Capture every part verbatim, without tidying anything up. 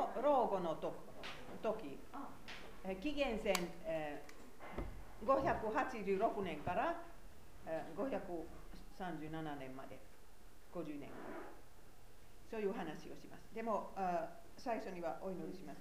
の老後のと時、紀元前、えー、ごひゃくはちじゅうろくねんから、えー、ごひゃくさんじゅうななねんまでごじゅうねん、そういう話をします。でもあ最初にはお祈りします。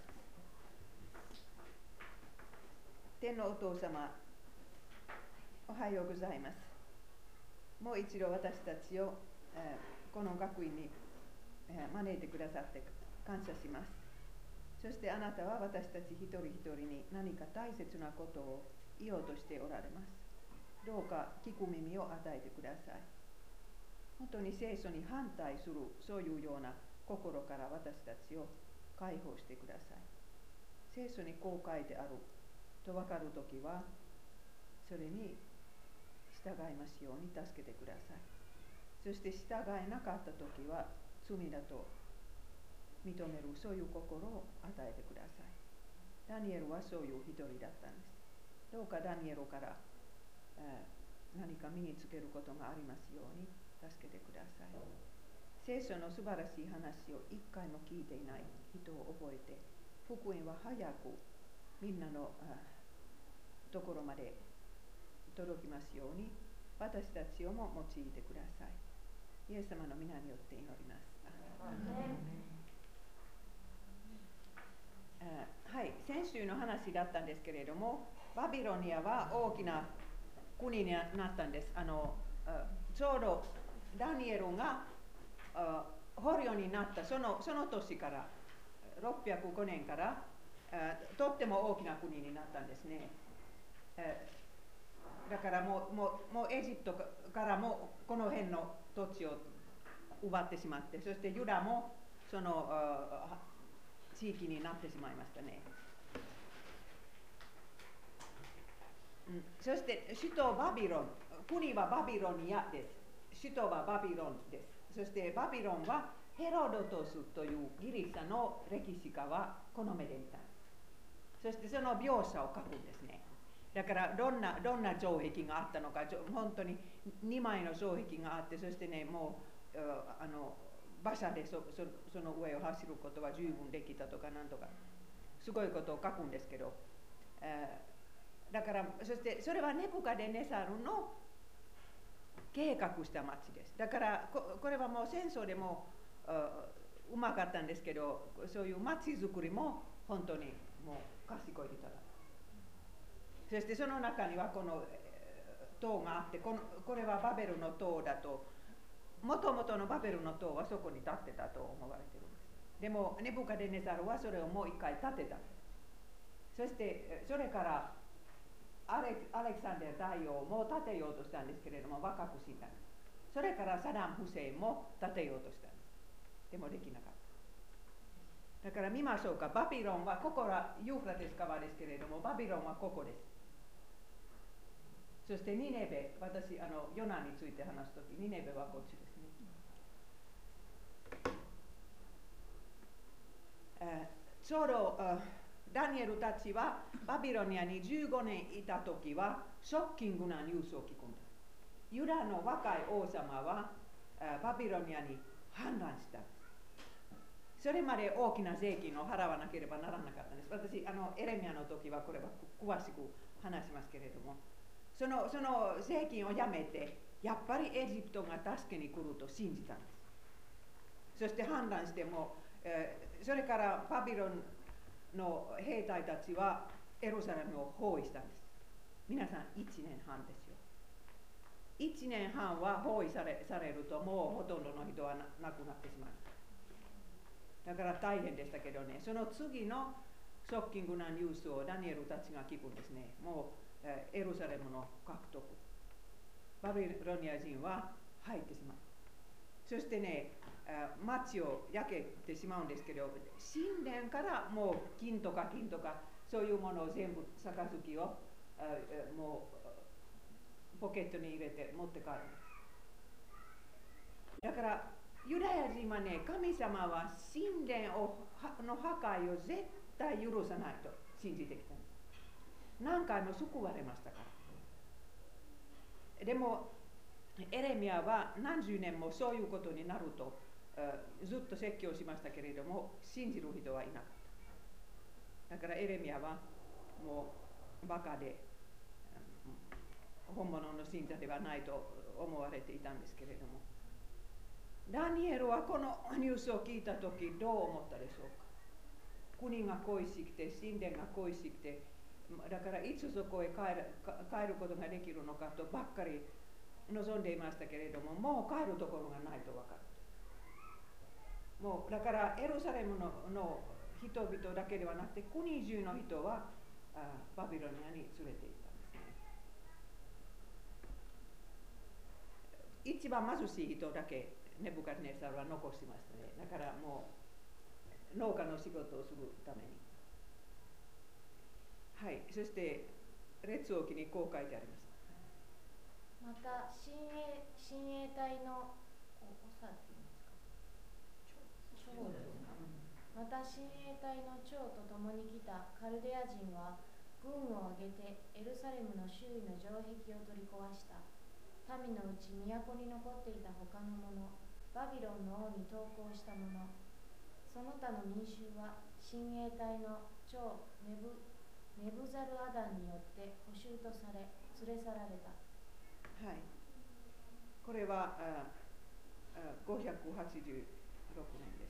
天のお父様、おはようございます。もう一度私たちを、えー、この学院に、えー、招いてくださって感謝します。そしてあなたは私たち一人一人に何か大切なことを言おうとしておられます。どうか聞く耳を与えてください。本当に聖書に反対するそういうような心から私たちを解放してください。聖書にこう書いてあると分かるときはそれに従いますように助けてください。そして従えなかったときは罪だと認めるそういう心を与えてください。ダニエルはそういう一人だったんです。どうかダニエルから、えー、何か身につけることがありますように助けてください。聖書の素晴らしい話を一回も聞いていない人を覚えて、福音は早くみんなのところまで届きますように私たちをも用いてください。イエス様の皆によって祈ります。はい、先週の話だったんですけれども、バビロニアは大きな国になったんです。あのちょうどダニエルが捕虜になったその、その年からろっぴゃくごねんからとっても大きな国になったんですね。だからもう、もう、もうエジプトからもこの辺の土地を奪ってしまって、そしてユダもその地域になってしまいましたね。うん、そして首都バビロン、国はバビロニアです。首都はバビロンです。そしてバビロンはヘロドトスというギリシャの歴史家はこの目で見た。そしてその描写を書くんですね。だからどんなどんな城壁があったのか、本当ににまいの城壁があって、そしてね、もうあの馬車で そ, そ, その上を走ることは十分できたとかなんとかすごいことを書くんですけど、えー、だからそしてそれはネブカデネサルの計画した町です。だからここれはもう戦争でもうまかったんですけど、そういう町づくりも本当にもう賢い人だ。そしてその中にはこの塔があって、このこれはバベルの塔だと、もともとのバベルの塔はそこに立ってたと思われているんです。でもネブカデネザルはそれをもう一回建てたんです。そしてそれからアレアレキサンデル大王も建てようとしたんですけれども若く死んだんです。それからサダム・フセインも建てようとしたんです。でもできなかった。だから見ましょうか。バビロンはここはユーフラテス川ですけれども、バビロンはここです。そしてニネベ、私あのヨナについて話すとき、ニネベはこっちですね。えー、ちょうどダニエルたちはバビロニアにじゅうごねんいたときはショッキングなニュースを聞くんです。ユダの若い王様はバビロニアに反乱した。それまで大きな税金を払わなければならなかったんです。私あのエレミアの時はこれは詳しく話しますけれども、そのその税金をやめてやっぱりエジプトが助けに来ると信じたんです。そして反乱しても、えー、それからバビロンの兵隊たちはエルサレムを包囲したんです。皆さんいちねんはんですよ。いちねんはんは包囲され、されるともうほとんどの人は亡くなってしまう。だから大変でしたけどね、その次のショッキングなニュースをダニエルたちが聞くんですね。もう、えー、エルサレムの獲得。バビロニア人は入ってしまう。そしてね、町を焼けてしまうんですけど、神殿からもう金とか金とかそういうものを全部杯をもうポケットに入れて持って帰る。だからユダヤ人はね、神様は神殿をの破壊を絶対許さないと信じてきたんです。何回も救われましたから。でもエレミアは何十年もそういうことになるとずっと説教しましたけれども、信じる人はいなかった。だからエレミヤはもうバカで本物の信者ではないと思われていたんですけれども、ダニエルはこのニュースを聞いたときどう思ったでしょうか。国が恋しくて、神殿が恋しくて、だからいつそこへ帰る、帰ることができるのかとばっかり望んでいましたけれども、もう帰るところがないと分かる。もうだからエルサレム の, の人々だけではなくて国中の人はあバビロニアに連れて行ったんですね。一番貧しい人だけネブカデネサルは残しましたね。だからもう農家の仕事をするために。はい、そして列王記にこう書いてあります。 また親衛親衛隊の長って言いますか、長ですか。また親衛隊の長と共に来たカルデア人は軍を挙げてエルサレムの周囲の城壁を取り壊した。民のうち都に残っていた他の者、バビロンの王に投降した者、その他の民衆は親衛隊の長ネブネブザルアダンによって捕囚とされ連れ去られた。 はい、これはああごひゃくはちじゅうろくねんです。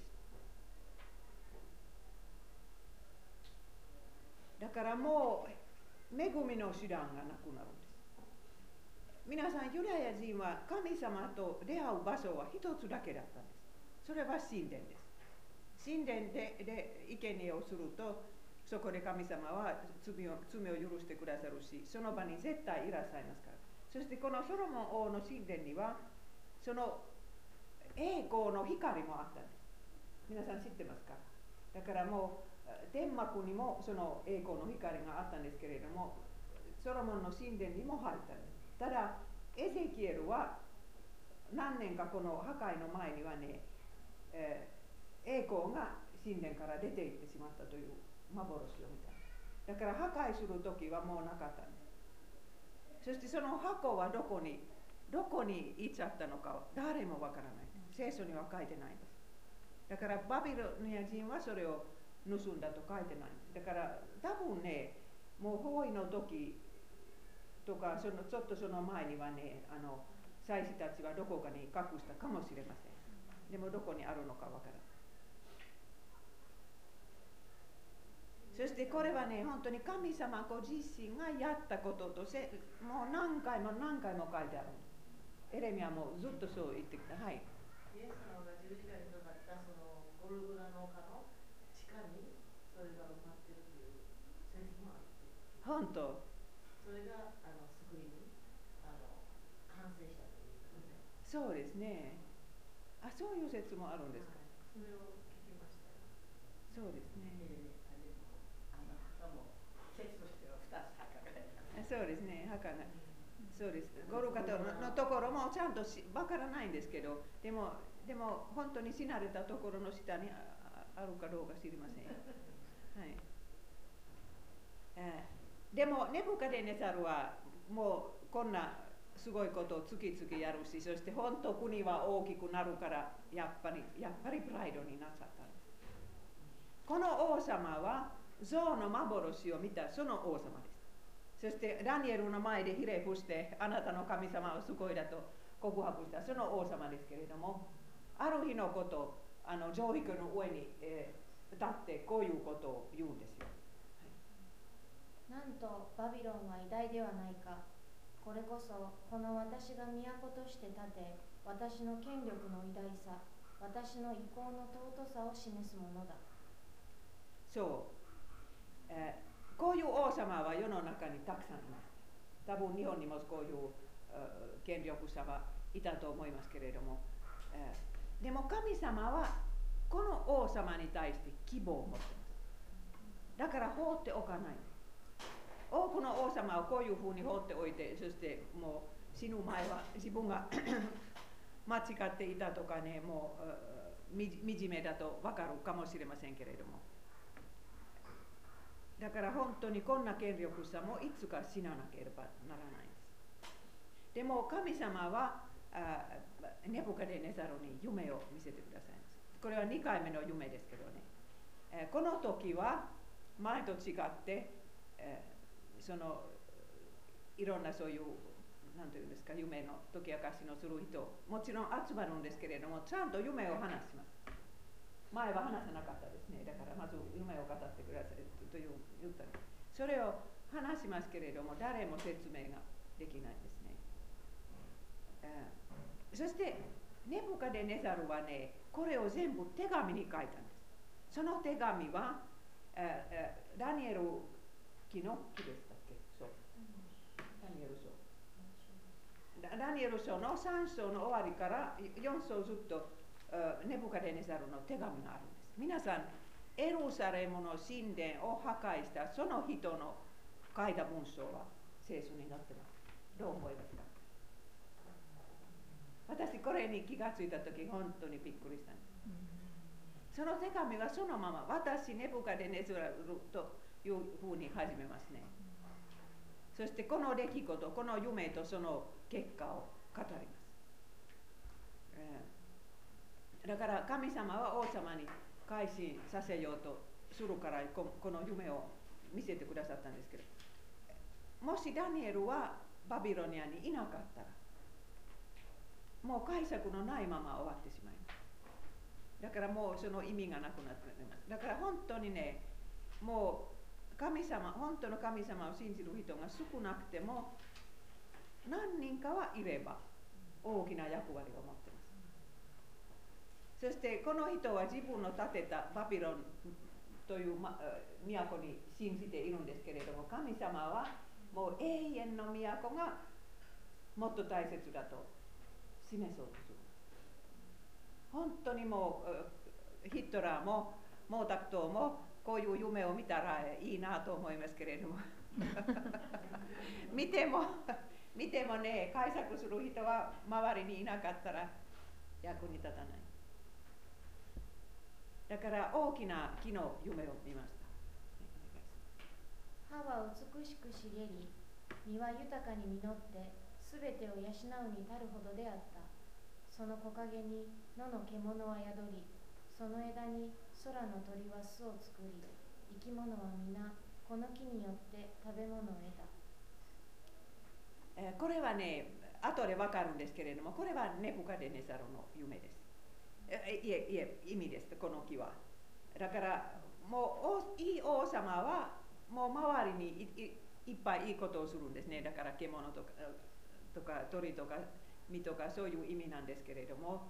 だからもう恵みの手段がなくなるんです。皆さん、ユダヤ人は神様と出会う場所は一つだけだったんです。それは神殿です。神殿 で, で生贄をすると、そこで神様は罪 を, 罪を許してくださるし、その場に絶対いらっしゃいますから。そしてこのソロモン王の神殿にはその栄光の光もあったんです。皆さん知ってますか。だからもう天幕にもその栄光の光があったんですけれども、ソロモンの神殿にも入ったんです。ただエゼキエルは何年かこの破壊の前にはね、えー、栄光が神殿から出て行ってしまったという幻を見た。だから破壊する時はもうなかったんです。そしてその箱はどこにどこに行っちゃったのか誰もわからない。聖書には書いてないんです。だからバビロニア人はそれを盗んだと書いてないんです。だから多分ね、もう包囲の時とかそのちょっとその前にはね、あの祭司たちはどこかに隠したかもしれません。でもどこにあるのかわからない。そしてこれはね、本当に神様ご自身がやったこととせ、もう何回も何回も書いてある。エレミヤもずっとそう言ってきた。はい。 イエス様が十字架にかかったそのゴルゴラの丘の地下にそれが埋まっているという説もあって。 本当。 それがあの救いにあの完成したということで。 そうですね。あ、そういう説もあるんですか。 はい、それを聞きましたよ。 そうですね。 えーそうですね、墓が。そうです。ゴルゴタのところもちゃんとわからないんですけど、でも、でも本当に死なれたところの下に あ, あるかどうか知りません。はい。えー、でも、ネブカデネザルはもうこんなすごいことを次々やるし、そして本当国は大きくなるから、やっぱり、やっぱりプライドになっちゃったんです。この王様は、象の幻を見たその王様です。そしてダニエルの前でひれ伏して、あなたの神様はすごいだと告白したその王様ですけれども、ある日のこと、あの城壁の上に、えー、立ってこういうことを言うんですよ。 はい、なんとバビロンは偉大ではないか。これこそこの私が都として立て、私の権力の偉大さ、私の意向の尊さを示すものだ。 そう、えーこういう王様は世の中にたくさんいます。多分日本にもこういう権力者はいたと思いますけれども、えー、でも神様はこの王様に対して希望を持っています。だから放っておかない。多くの王様はこういうふうに放っておいて、そしてもう死ぬ前は自分が間違っていたとかね、もう惨めだと分かるかもしれませんけれども、だから本当にこんな権力者もいつか死ななければならないんです。でも神様はあネブカデネザルに夢を見せてくださいます。これはにかいめの夢ですけどね、えー、この時は前と違って、えー、そのいろんなそういうなんていうんですか、夢の解き明かしのする人もちろん集まるんですけれども、ちゃんと夢を話します。前は話さなかったですね。だからまず夢を語ってくださいという言ったの。それを話しますけれども、誰も説明ができないんですね。えー、そしてネブカデネザルはね、これを全部手紙に書いたんです。その手紙は、えーえー、ダニエル記の記でしたっけ？そう。ダニエル書。ダニエル書のさん章の終わりからよん章ずっとネブカデネザルの手紙があるんです。皆さん、エルサレムの神殿を破壊したその人の書いた文章は聖書に載ってます。どう思いますか？私これに気がついたとき本当にびっくりしたんです。その手紙はそのまま私ネブカデネザルというふうに始めますね。そしてこの出来事、この夢とその結果を語ります。えー、だから神様は王様に改心させようとするからこの夢を見せてくださったんですけど、もしダニエルはバビロニアにいなかったらもう解釈のないまま終わってしまいます。だからもうその意味がなくなっています。だから本当にね、もう神様、本当の神様を信じる人が少なくても何人かはいれば大きな役割を持っています。そしてこの人は自分の建てたバビロンという都に信じているんですけれども、神様はもう永遠の都がもっと大切だと示そうとする。本当にもうヒトラーも毛沢東もこういう夢を見たらいいなと思いますけれども見ても見てもね、解釈する人は周りにいなかったら役に立たない。だから大きな木の夢を見ました。 葉は美しく茂り、実は豊かに実ってすべてを養うに足るほどであった。その木陰に野の獣は宿り、その枝に空の鳥は巣を作り、生き物は皆この木によって食べ物を得た。 えー、これはね、後でわかるんですけれども、これはネブカデネザルの夢です。えいえいえ意味です。この木は。だからもういい王様はもう周りに い, い, いっぱいいいことをするんですね。だから獣とかとか鳥とか実とかそういう意味なんですけれども、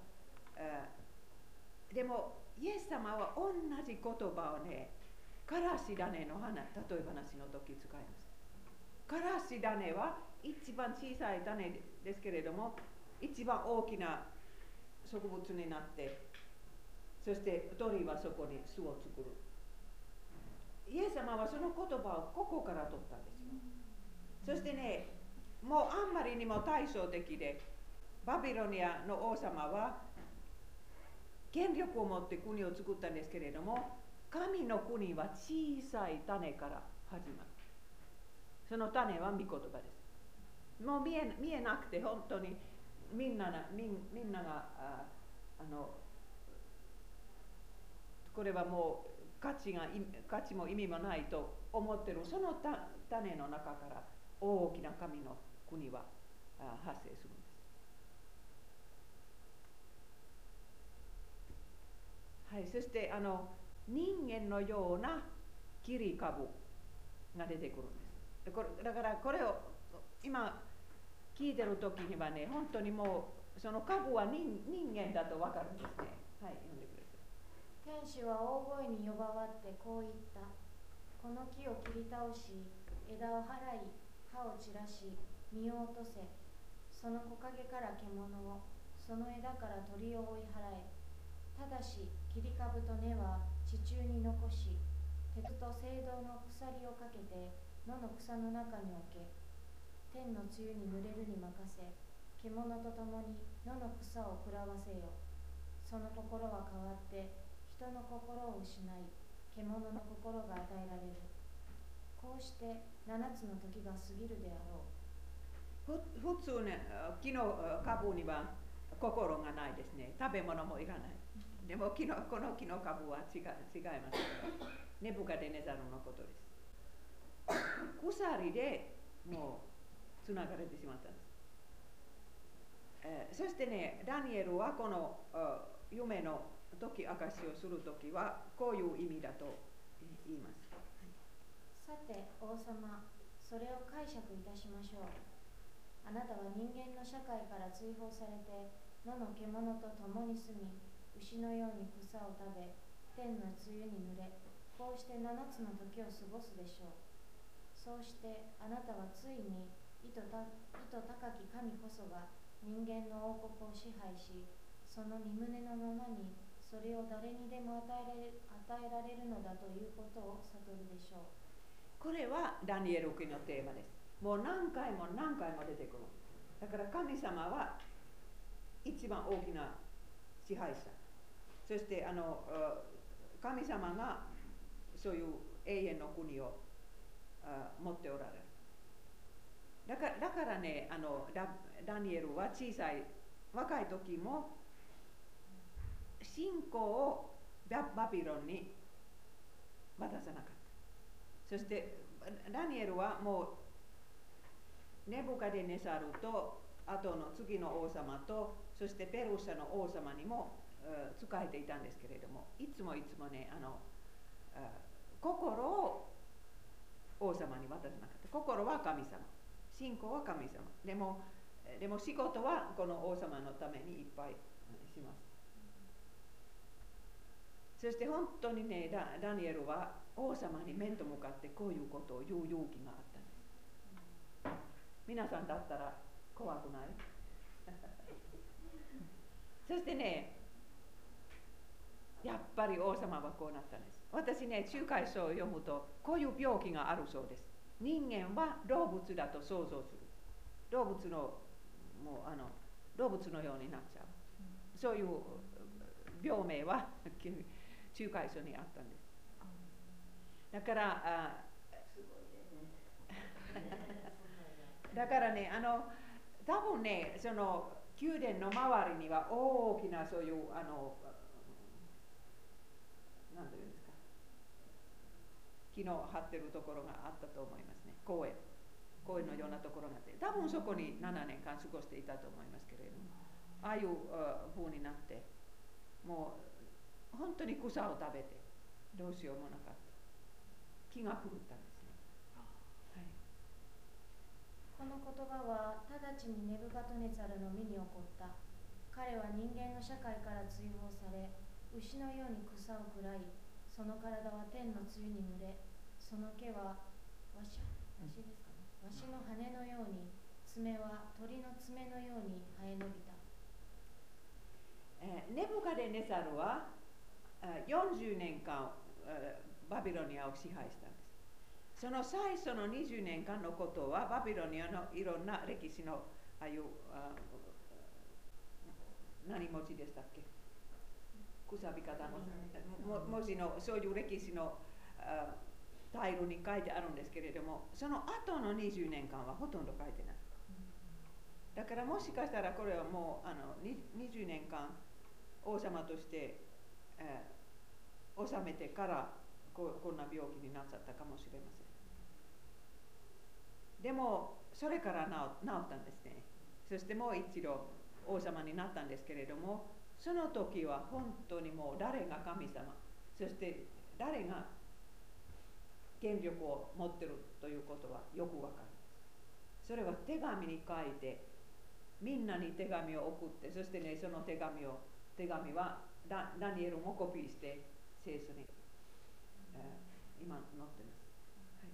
でもイエス様は同じ言葉をね、からし種の花、例え話の時使います。からし種は一番小さい種ですけれども、一番大きな植物になって、そして鳥はそこに巣を作る。イエス様はその言葉をここから取ったんですよ。そしてね、もうあんまりにも対照的で、バビロニアの王様は権力を持って国を作ったんですけれども、神の国は小さい種から始まる。その種は御言葉です。もう見え、見えなくて本当にみんなな、みん、みんなが あ, あのこれはもう価値が価値も意味もないと思っているその種の中から大きな神の国は発生するんです。はい、そしてあの人間のような切り株が出てくるんです。これだからこれを今聞いてる時にはね、本当にもうその株は 人, 人間だと分かるんですね。はい、読んでください。 天使は大声に呼ばわってこう言った。この木を切り倒し、枝を払い、葉を散らし、実を落とせ。その木陰から獣を、その枝から鳥を追い払え。ただし切り株と根は地中に残し、鉄と青銅の鎖をかけて野の草の中に置け。天の露に濡れるに任せ、獣と共に野の草を食らわせよ。その心は変わって人の心を失い、獣の心が与えられる。こうして七つの時が過ぎるであろう。 ふ普通ね、木の株には心がないですね。食べ物もいらない。でも木のこの木の株は違い違います。ネブカデネザルのことです。鎖でもうつながれてしまったんです。えー、そしてね、ダニエルはこの夢の解き明かしをするときはこういう意味だと言います。 さて王様、それを解釈いたしましょう。あなたは人間の社会から追放されて野の獣と共に住み、牛のように草を食べ、天の露に濡れ、こうして七つの時を過ごすでしょう。そうしてあなたはついに意図た意図高き神こそが人間の王国を支配し、その身胸のままにそれを誰にでも与えられ、与えられるのだということを悟るでしょう。 これはダニエル記のテーマです。もう何回も何回も出てくる。だから神様は一番大きな支配者。そしてあの神様がそういう永遠の国を持っておられる。だからだからね、あの ダ, ダニエルは小さい若い時も信仰をバビロンに渡さなかった。そしてダニエルはもうネブカデネサルと後の次の王様とそしてペルシャの王様にも仕えていたんですけれども、いつもいつもね、あの心を王様に渡さなかった。心は神様、信仰は神様。でもでも仕事はこの王様のためにいっぱいします。そして本当にね、ダ, ダニエルは王様に面と向かってこういうことを言う勇気があったんです。皆さんだったら怖くないそしてね、やっぱり王様はこうなったんです。私ね、仲介書を読むとこういう病気があるそうです。人間は動物だと想像する。動物のもうあの動物のようになっちゃう。そういう病名は仲介書にあったんです。だからあだからね、あの多分ね、その宮殿の周りには大きなそういうあの何ていうんですか、木の張ってるところがあったと思いますね。公園公園のようなところがあって、多分そこにななねんかん過ごしていたと思いますけれども、ああいう風になってもう本当に草を食べてどうしようもなかった。気が狂ったんですね。はい、 この言葉は直ちにネブカドネザルの身に起こった。彼は人間の社会から追放され、牛のように草を食らい、その体は天の露に濡れ、その毛はわしわしですかね、わしの羽のように、爪は鳥の爪のように生え伸びた。 えー、ネブカデネザルはよんじゅうねんかんバビロニアを支配したんです。その最初のにじゅうねんかんのことはバビロニアのいろんな歴史のああいうあ何文字でしたっけ、くさび方の文字のそういう歴史のタイルに書いてあるんですけれども、その後のにじゅうねんかんはほとんど書いてない。だからもしかしたらこれはもうあのにじゅうねんかん王様として、えー、治めてからこ, こんな病気になっちゃったかもしれません。でもそれから治, 治ったんですね。そしてもう一度王様になったんですけれども、その時は本当にもう誰が神様、そして誰が権力を持っているということはよくわかるんです。それは手紙に書いてみんなに手紙を送って、そしてね、その手紙を手紙は ダ, ダニエルもコピーして聖書に、えー、今載ってます。はい、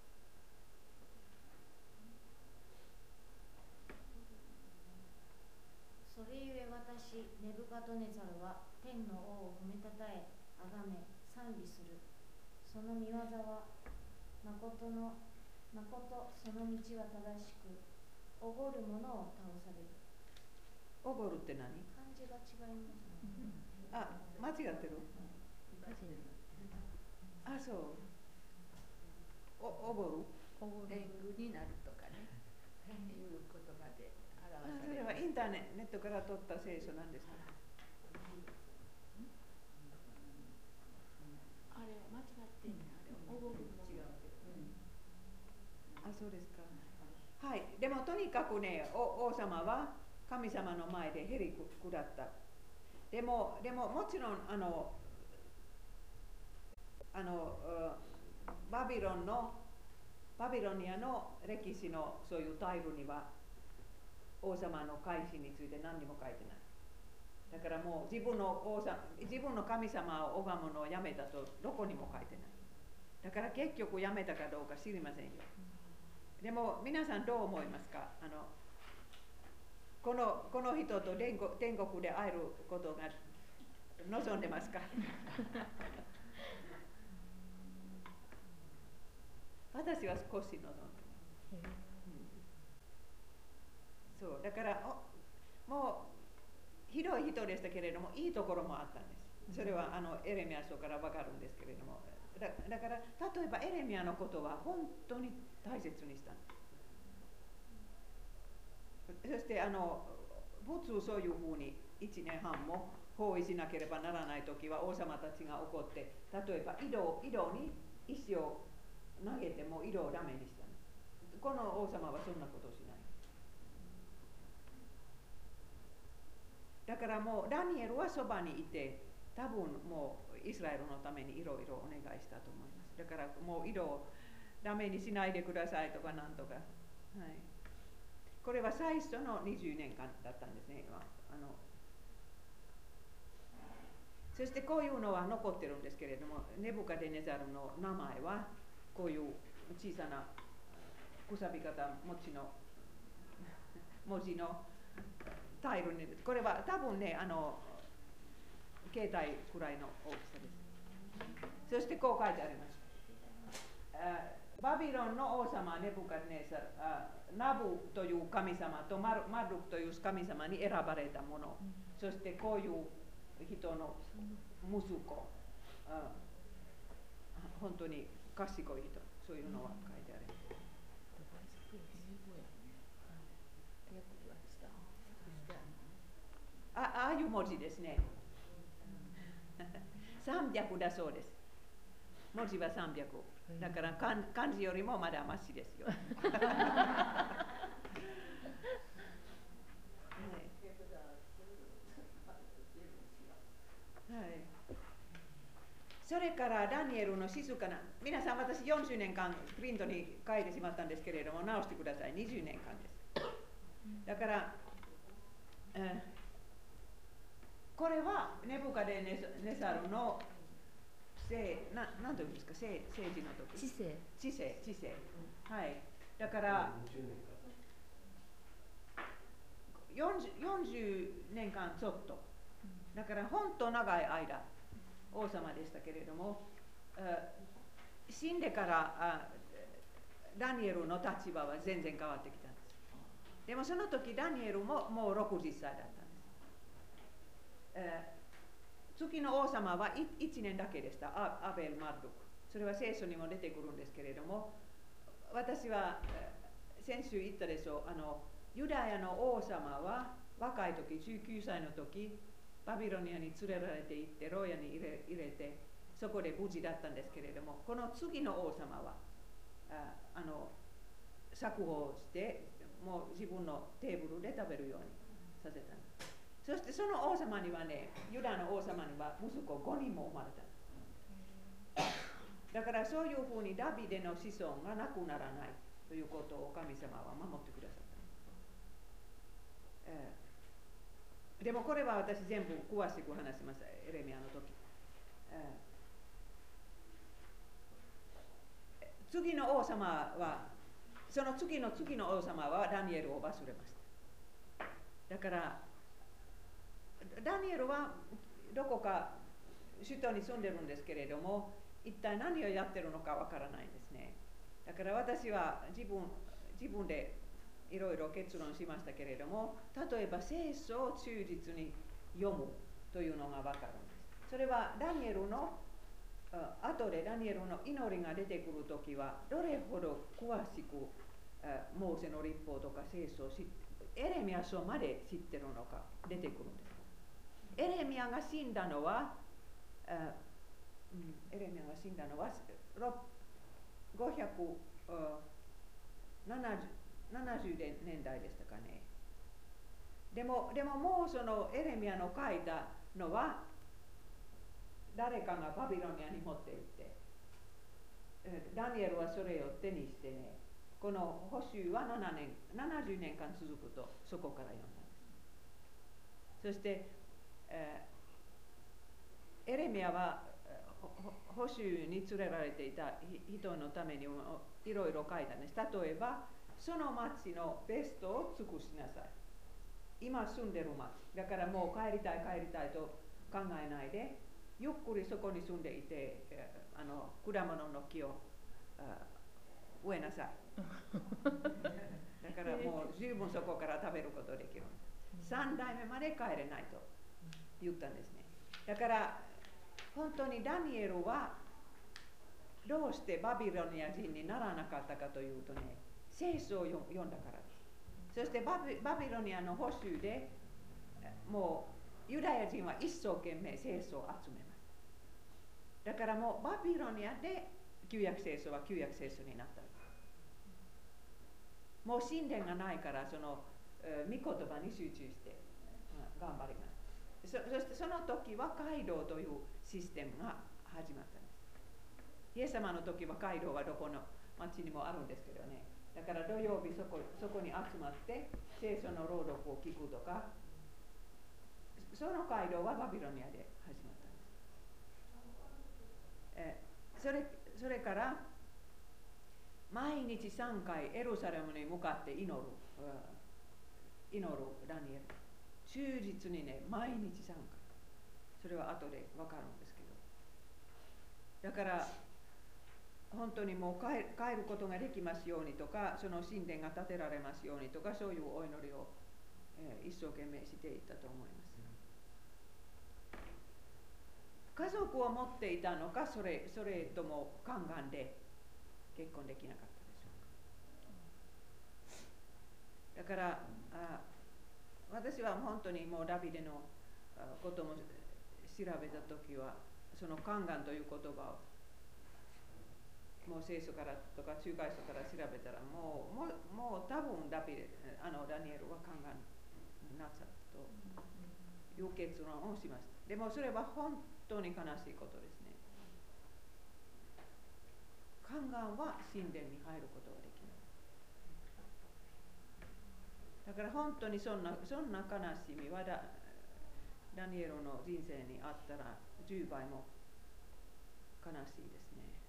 それゆえ私ネブカドネザルは天の王を褒めたたえ、あがめ賛美する。その御業はまことのまことその道は正しく、おごる者を倒される。 おごるって何？ 漢字が違いますね。 あ、間違ってる。あ、そう。お、おごる。 おごる。天狗になるとかね。 いう言葉で表あ、 されます。 それはインターネットから取った聖書なんですか？ あれ間違ってんねん。あれおごるも違うけど、うん、 あ、そうですか。はい、でもとにかくね、お王様は神様の前でへりくだった。でも、でももちろんあのあのバビロンのバビロニアの歴史のそういうタイルには王様の改心について何にも書いてない。だからもう自分の王様、自分の神様を拝むのをやめたとどこにも書いてない。だから結局やめたかどうか知りませんよ。でも皆さんどう思いますか？あのこのこの人と天国、天国で会えることが望んでますか？私は少し望んでます。うん、そうだからおもうひどい人でしたけれどもいいところもあったんです。それはあのエレミア書からわかるんですけれども、だ, だから例えばエレミアのことは本当に大切にしたんです。そしてあの普通そういうふうにいちねんはんも包囲しなければならないときは王様たちが怒って、例えば井戸井戸に石を投げても井戸をダメにしたんです。この王様はそんなことをしない。だからもうダニエルはそばにいて、多分もうイスラエルのためにいろいろお願いしたと思います。だからもう井戸をダメにしないでくださいとかなんとか、はい、これは最初のにじゅうねんかんだったんですね。あのそしてこういうのは残ってるんですけれども、ネブカデネザルの名前はこういう小さなくさび型持ちの文字のタイルに、これは多分ね、あの携帯くらいの大きさです。そしてこう書いてあります。バビロンの王様ネブカデネザル、ナブという神様とマルマルクという神様に選ばれたもの、そしてこういう人の息子、あ本当に賢い人、そういうのは書いてある。あ, ああいう文字ですね。さんびゃくだそうです。文字はさんびゃく。だから漢字よりもまだマシですよ。はいはい、それからダニエルの静かな、皆さん私よんじゅうねんかんプリントに書いてしまったんですけれども直してください。にじゅうねんかんです。だから、えー、これはネブカデネザルのせななんていうんですか、政治の時、 知性知性知性、はい、だからよんじゅう、よんじゅうねんかんちょっと、だから本当長い間王様でしたけれども、死んでからダニエルの立場は全然変わってきたんです。でもその時ダニエルももうろくじゅっさいだったんです。えー月の王様はいちねんだけでした。アベル・マルドク。それは聖書にも出てくるんですけれども、私は先週言ったでしょう、あのユダヤの王様は若い時、じゅうきゅうさいの時、バビロニアに連れられて行って牢屋に入れ、入れて、そこで無事だったんですけれども、この次の王様はああの釈放して、もう自分のテーブルで食べるようにさせたんです。そしてその王様にはね、ユダの王様には息子ごにんも生まれたんです。だからそういうふうにダビデの子孫がなくならないということを神様は守ってくださった。えー、でもこれは私全部詳しく話します、エレミアの時。えー、次の王様は、その次の次の王様はダニエルを忘れました。だからダニエルはどこか首都に住んでるんですけれども、一体何をやってるのかわからないんですね。だから私は自分自分でいろいろ結論しましたけれども、例えば聖書を忠実に読むというのがわかるんです。それはダニエルの後でダニエルの祈りが出てくるときはどれほど詳しくモーセの律法とか聖書を知って、エレミア書まで知ってるのか出てくるんです。エレミアが死んだのは、あうん、エレミアが死んだのはごひゃくななじゅうねんだいでしたかね。でも、でももうそのエレミアの書いたのは誰かがバビロニアに持って行って、ダニエルはそれを手にしてね、この補修はななねん、ななじゅうねんかん続くとそこから読んだんです。そして、えー、エレミアは補修に連れられていた人のためにもいろいろ書いたんです。例えば、その町のベストを尽くしなさい。今住んでる町。だからもう帰りたい帰りたいと考えないで、ゆっくりそこに住んでいて、あの果物の木を植えなさい。だからもう十分そこから食べることできる。三代目まで帰れないと言ったんですね。だから本当にダニエルはどうしてバビロニア人にならなかったかというとね、聖書を読んだからです。そしてバビ、バビロニアの補修でもうユダヤ人は一生懸命聖書を集めます。だからもうバビロニアで旧約聖書は旧約聖書になったんです。もう神殿がないからその御言葉に集中して頑張ります。そ, そしてその時は街道というシステムが始まったんです。イエス様の時は街道はどこの町にもあるんですけどね。だから土曜日そ こ, そこに集まって聖書の朗読を聞くとか、その街道はバビロニアで始まったんです。え そ, れそれから毎日さんかいエルサレムに向かって祈る、祈るダニエル。忠実にね、毎日さんかい。それは後で分かるんですけど。だから本当にもう 帰, 帰ることができますようにとか、その神殿が建てられますようにとか、そういうお祈りを、えー、一生懸命していったと思います。家族を持っていたのか、それ、それとも宦官で結婚できなかったでしょうか。だからあ私は本当にもうダビデのことも調べたときは、その宦官という言葉をもう聖書からとか中外書から調べたら、もうもうもう多分ダビデあのダニエルは宦官になっちゃったという結論をしました。でもそれは本当に悲しいことですね。宦官は神殿に入ることができない。だから本当にそんなそんな悲しみは ダ, ダニエルの人生にあったらじゅうばいも悲しいですね。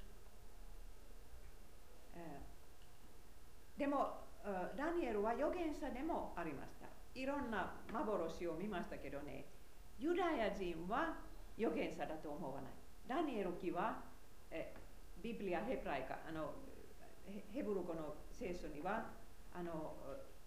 えー、でもダニエルは預言者でもありました。いろんな幻を見ましたけどね、ユダヤ人は預言者だと思わない。ダニエル記はえビブリア・ヘブライカ、あのヘブル語の聖書にはあの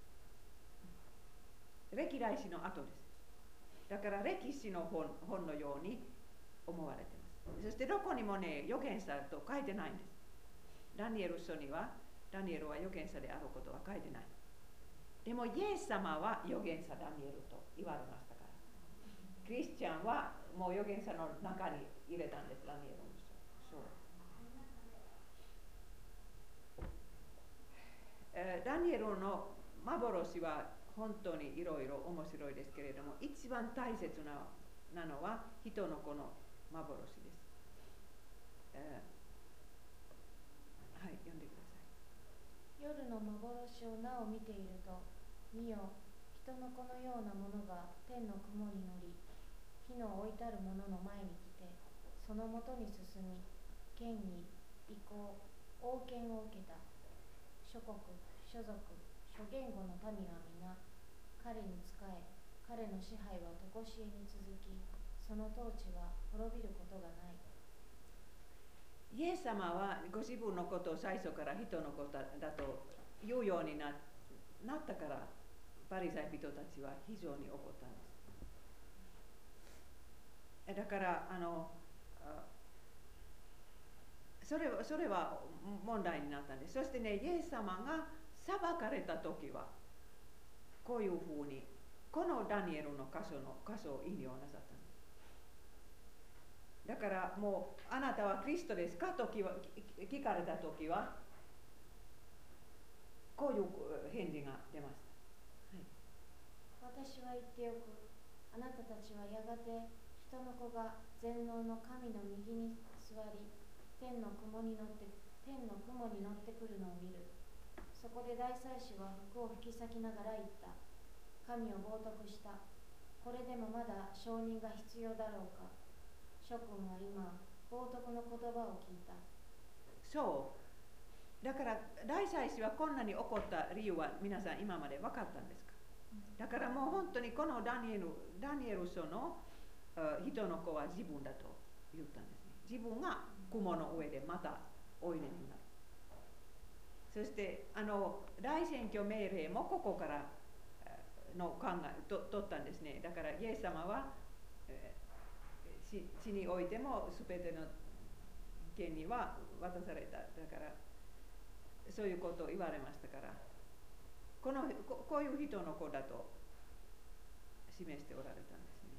歴代史の後です。だから歴史の 本, 本のように思われています。そしてどこにもね、預言者と書いてないんです。ダニエル書にはダニエルは預言者であることは書いてない。でもイエス様は預言者ダニエルと言われましたから、クリスチャンはもう預言者の中に入れたんです。ダニエルの書。えー、ダニエルの幻は本当にいろいろ面白いですけれども、一番大切ななのは人の子の幻です。えー、はい、読んでください。 夜の幻をなお見ていると、見よ、人の子のようなものが天の雲に乗り、火の置いたるものの前に来て、そのもとに進み、権威、威光、王権を受けた。諸国、諸族、諸言語の民は皆、彼に仕え、彼の支配は常しえに続き、その統治は滅びることがない。 イエス様はご自分のことを最初から人のことだと言うように な, なったから、パリサイ人たちは非常に怒ったんです。だからあのそれはそれは問題になったんです。そしてね、イエス様が裁かれた時はこういうふうにこのダニエルの箇所の箇所を引用なさったんです。だからもうあなたはクリストですかと聞かれた時はこういう返事が出ました。 はい、私は言っておく。あなたたちはやがて人の子が全能の神の右に座り、天の雲に乗って天の雲に乗ってくるのを見る。そこで大祭司は服を引き裂きながら言った。神を冒涜した。これでもまだ証人が必要だろうか。諸君は今、冒涜の言葉を聞いた。 そう。だから大祭司はこんなに怒った理由は皆さん今まで分かったんですか？だからもう本当にこのダニエル、ダニエル書の人の子は自分だと言ったんですね。自分が雲の上でまたおいでになる。そしてあの大選挙命令もここからの考えと取ったんですね。だからイエス様は、えー、地においても全ての権利は渡された。だからそういうことを言われましたから、このここういう人の子だと示しておられたんですね。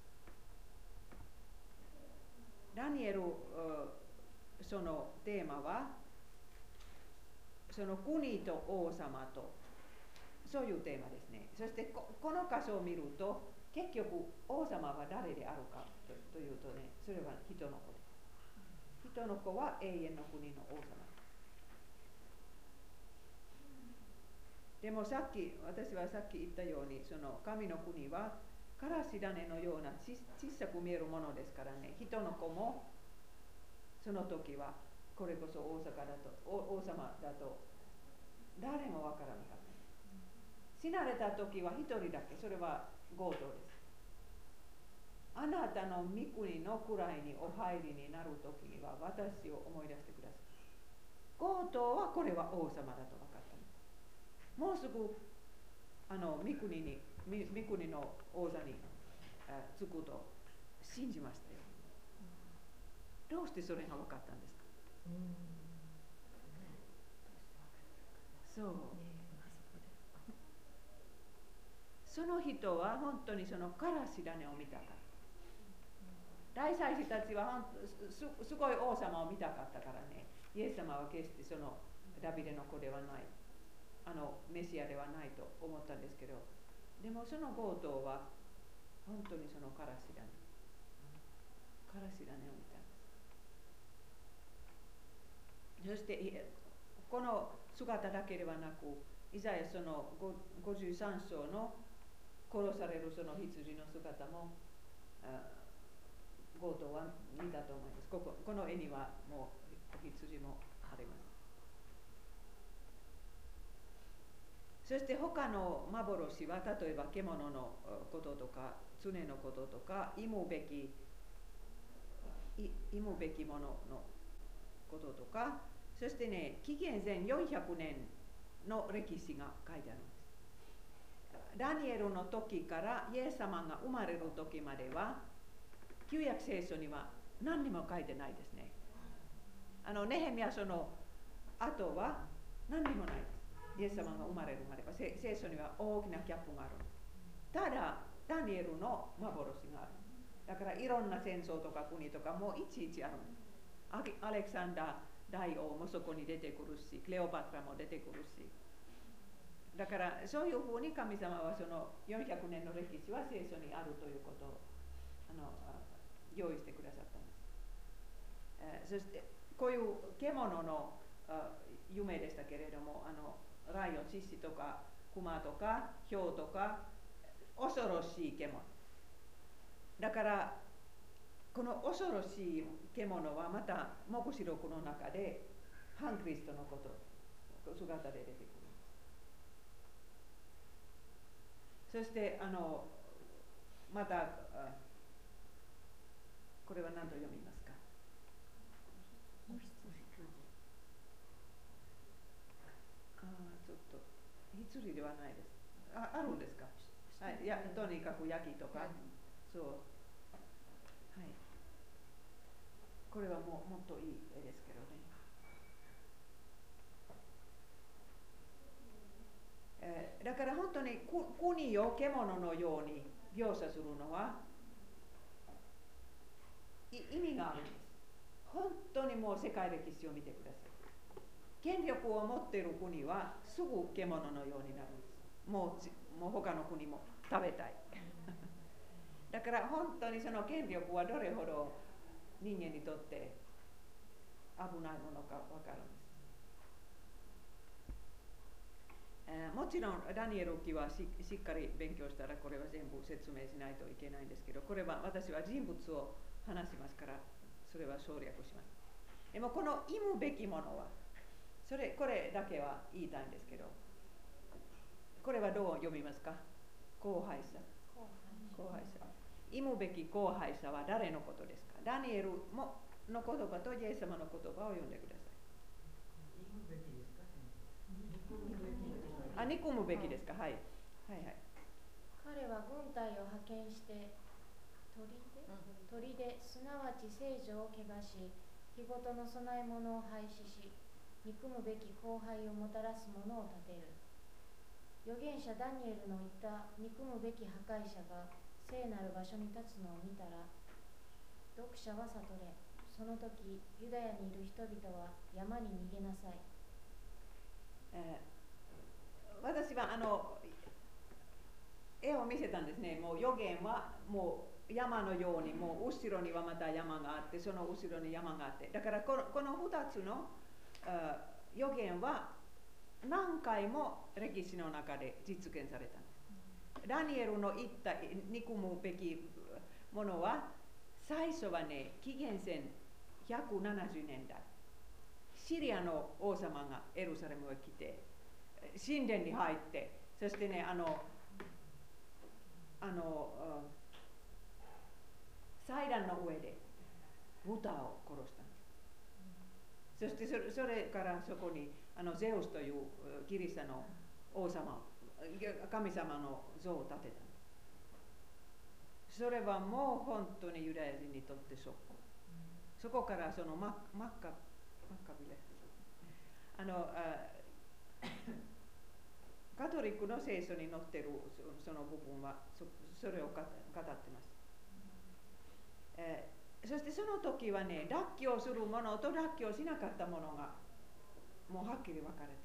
ダニエルそのテーマはその国と王様とそういうテーマですね。そしてここの箇所を見ると結局王様は誰であるかとというとね、それは人の子です。人の子は永遠の国の王様。でもさっき私はさっき言ったようにその神の国はからし種のような小さく見えるものですからね、人の子もその時はこれこそ王様だと王様だと誰もわからなかった。死なれた時は一人だけ、それは強盗です。あなたの御国の位にお入りになる時には私を思い出してください。強盗はこれは王様だと分かったんです。もうすぐあの御国に御国の王座につくと信じましたよ。どうしてそれが分かったんですか？そう。その人は本当にそのからし種を見たかった。大祭司たちはす, すごい王様を見たかったからね、イエス様は決してそのダビデの子ではない、あのメシアではないと思ったんですけど、でもその強盗は本当にそのからし種からし種を見たんです。そしてこの姿だけではなく、イザヤそのごじゅうさん章の殺されるその羊の姿も強盗は見たと思います。ここ、この絵にはもう羊もあります。そして他の幻は例えば獣のこととか常のこととか忌むべき忌むべきもののこととか、そしてね、紀元前よんひゃくねんの歴史が書いてあるんです。ダニエルの時からイエス様が生まれる時までは旧約聖書には何にも書いてないですね。あのネヘミヤ書の後は何にもないです。イエス様が生まれるまでは聖書には大きなギャップがあるんです。ただダニエルの幻がある。だからいろんな戦争とか国とかもいちいちあるんです。アレクサンダー大王もそこに出てくるし、クレオパトラも出てくるし、だからそういうふうに神様はそのよんひゃくねんの歴史は聖書にあるということをあの用意してくださったんです。えー、そしてこういう獣の夢でしたけれども、あのライオン、獅子とか熊とか豹とか恐ろしい獣だから、この恐ろしい獣はまた黙示録の中で反クリストのこと姿で出てくる。そしてあのまたこれは何と読みますか？あちょっと羊ではないです。あ、あるんですか？はい、やとにかくヤギとか、そう、はい。これはもうもっといい絵ですけどね。 当に国を獣のように描写するのは意味があるんです。本当にもう世界歴史を見てください。権力を持っている国はすぐ獣のようになるんです。もう、もう他の国も食べたい。だから本当にその権力はどれほど人間にとって危ないものか分かるんです。えー、もちろんダニエル記は し, しっかり勉強したらこれは全部説明しないといけないんですけど、これは私は人物を話しますからそれは省略します。でもこの忌むべきものはそれこれだけは言いたいんですけど、これはどう読みますか？荒廃者。荒廃者。忌むべき荒廃者は誰のことですか？ダニエルもの言葉とイエス様の言葉を読んでください。 憎むべきですか？ あ、憎むべきですか？はい。はいはい。 彼は軍隊を派遣して砦、砦、すなわち聖女を汚し、日ごとの供え物を廃止し、憎むべき荒廃をもたらす者を立てる。預言者ダニエルの言った憎むべき破壊者が聖なる場所に立つのを見たら、読者は悟れ。その時、ユダヤにいる人々は山に逃げなさい。 えー、私はあの絵を見せたんですね。もう預言はもう山のように、もう後ろにはまた山があって、その後ろに山があって、だからこの、このふたつの預言は何回も歴史の中で実現されたんです。ダニエルの言った憎むべきものは最初はね、紀元前ひゃくななじゅうねんだい、シリアの王様がエルサレムへ来て神殿に入って、そしてね、あのあの祭壇の上で豚を殺したんです。そしてそれ、それからそこにあのゼウスというギリシャの王様、神様の像を建てたんです。それはもう本当にユダヤ人にとってショック。そこからそのマッカ、マッカビレあのあカトリックの聖書に載っているその部分は そ, それを語ってます。えー、そしてその時はね、脱臼するものと脱臼しなかったものがもうはっきり分かれたんです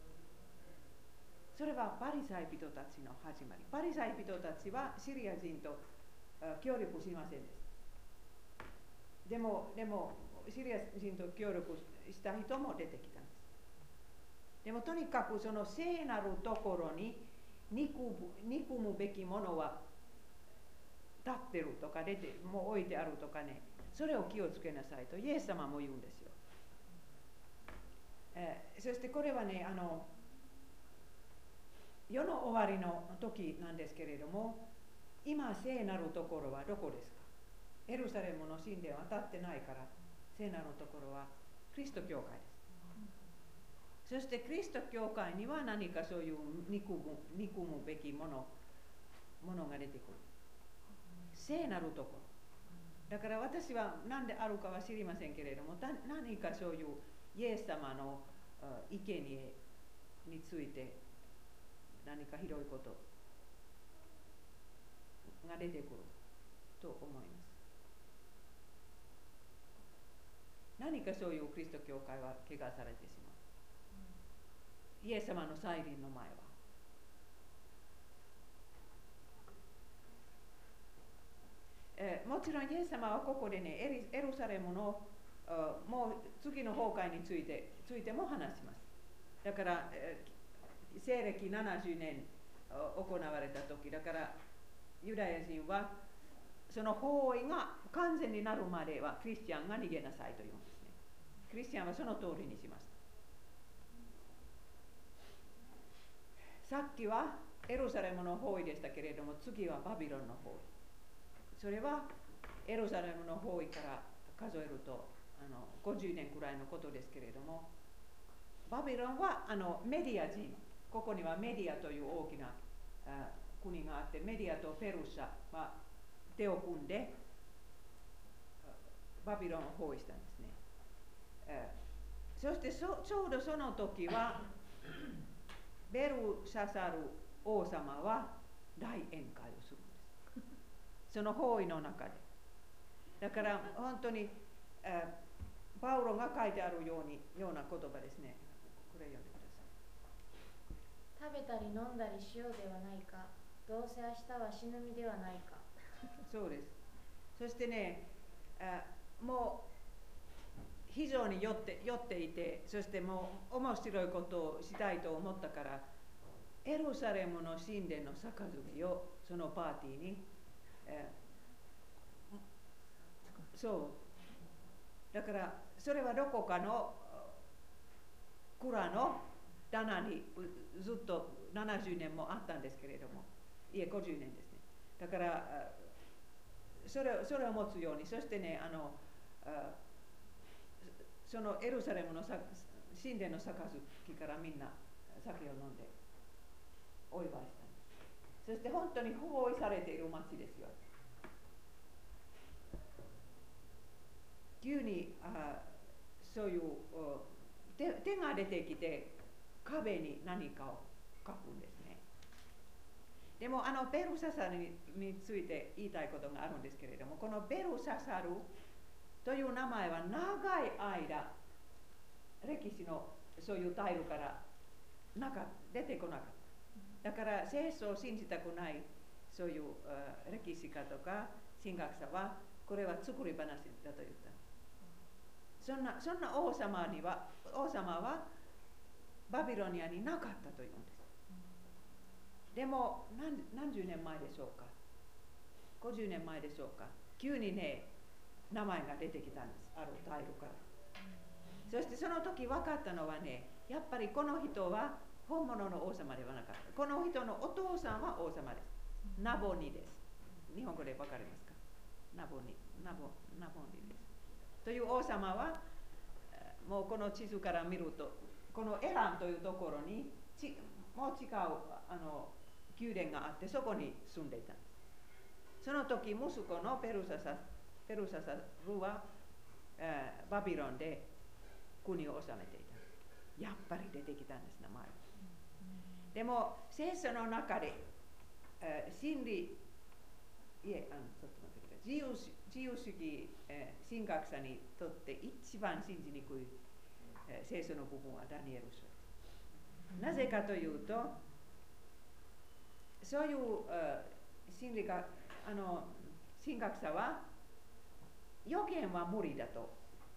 。それはパリサイ人たちの始まり。パリサイ人たちはシリア人と協力しませんでした。でも、でもシリア人と協力した人も出てきたんです。でもとにかくその聖なるところに憎むべきものは立ってるとか出てもう置いてあるとかね、それを気をつけなさいとイエス様も言うんですよ。えー、そしてこれはね、あの世の終わりの時なんですけれども、今聖なるところはどこですか？エルサレムの神殿は当たってないから、聖なるところはキリスト教会です。そしてキリスト教会には何かそういう憎む、憎むべきもの、ものが出てくる。聖なるところ。だから私は何であるかは知りませんけれども、何かそういうイエス様の意見に、について何かひどいことが出てくると思います。何かそういうキリスト教会は怪我されてしまう。イエス様の再臨の前は。えー、もちろんイエス様はここでね、エルサレムのもう次の崩壊について、ついても話します。だから、えー、西暦ななじゅうねん行われた時だから、ユダヤ人はその包囲が完全になるまではクリスチャンが逃げなさいと言うんですね。クリスチャンはその通りにしました。さっきはエルサレムの包囲でしたけれども、次はバビロンの包囲。それはエルサレムの包囲から数えるとあのごじゅうねんくらいのことですけれども、バビロンはあのメディア人、ここにはメディアという大きなあ国があって、メディアとペルシャは手を組んでバビロンを包囲したんですね。えー、そしてそちょうどその時はベルシャサル王様は大宴会をするんです。その包囲の中で。だから本当に、えー、パウロが書いてあるようにような言葉ですね。これ読んでください。 食べたり飲んだりしようではないか。どうせ明日は死ぬ身ではないか。 そうです。そしてね、あもう非常に酔って酔っていて、そしてもう面白いことをしたいと思ったから、エルサレムの神殿の杯をそのパーティーに、えー、そうだからそれはどこかの蔵の棚にずっとななじゅうねんもあったんですけれども、いえごじゅうねんですね。だからそれそれを持つように、そしてね、あのあそのエルサレムの神殿の杯からみんな酒を飲んでお祝いしたんです。そして本当に包囲されている町ですよ。急にあそういう手、手が出てきて壁に何かを書くんですね。でもあのベルササルについて言いたいことがあるんですけれども、このベルササルという名前は長い間歴史のそういうタイルからなか出てこなかった。だから聖書を信じたくないそういう歴史家とか神学者はこれは作り話だと言った。そんなそんな王様には王様はバビロニアになかったというんです。でも 何, 何十年前でしょうか、ごじゅうねんまえでしょうか、急にね名前が出てきたんです、あるタイルから。そしてその時分かったのはね、やっぱりこの人は本物の王様ではなかった。この人のお父さんは王様です。ナボニです。日本語で分かりますか？ナボニ、ナボ、ナボニです。という王様はもうこの地図から見ると、このエランというところにちもう違うあの宮殿があって、そこに住んでいたんです。その時息子のペルササペルササルは、えー、バビロンで国を治めていた。やっぱり出てきたんです、名前。でも聖書の中で、えー、真理いえあのちょっと待ってください。自由自由主義、えー、神学者にとって一番信じにくい、えー、聖書の部分はダニエル書です。なぜかというと、そういう、uh, 心理学あの神学者は予言は無理だと。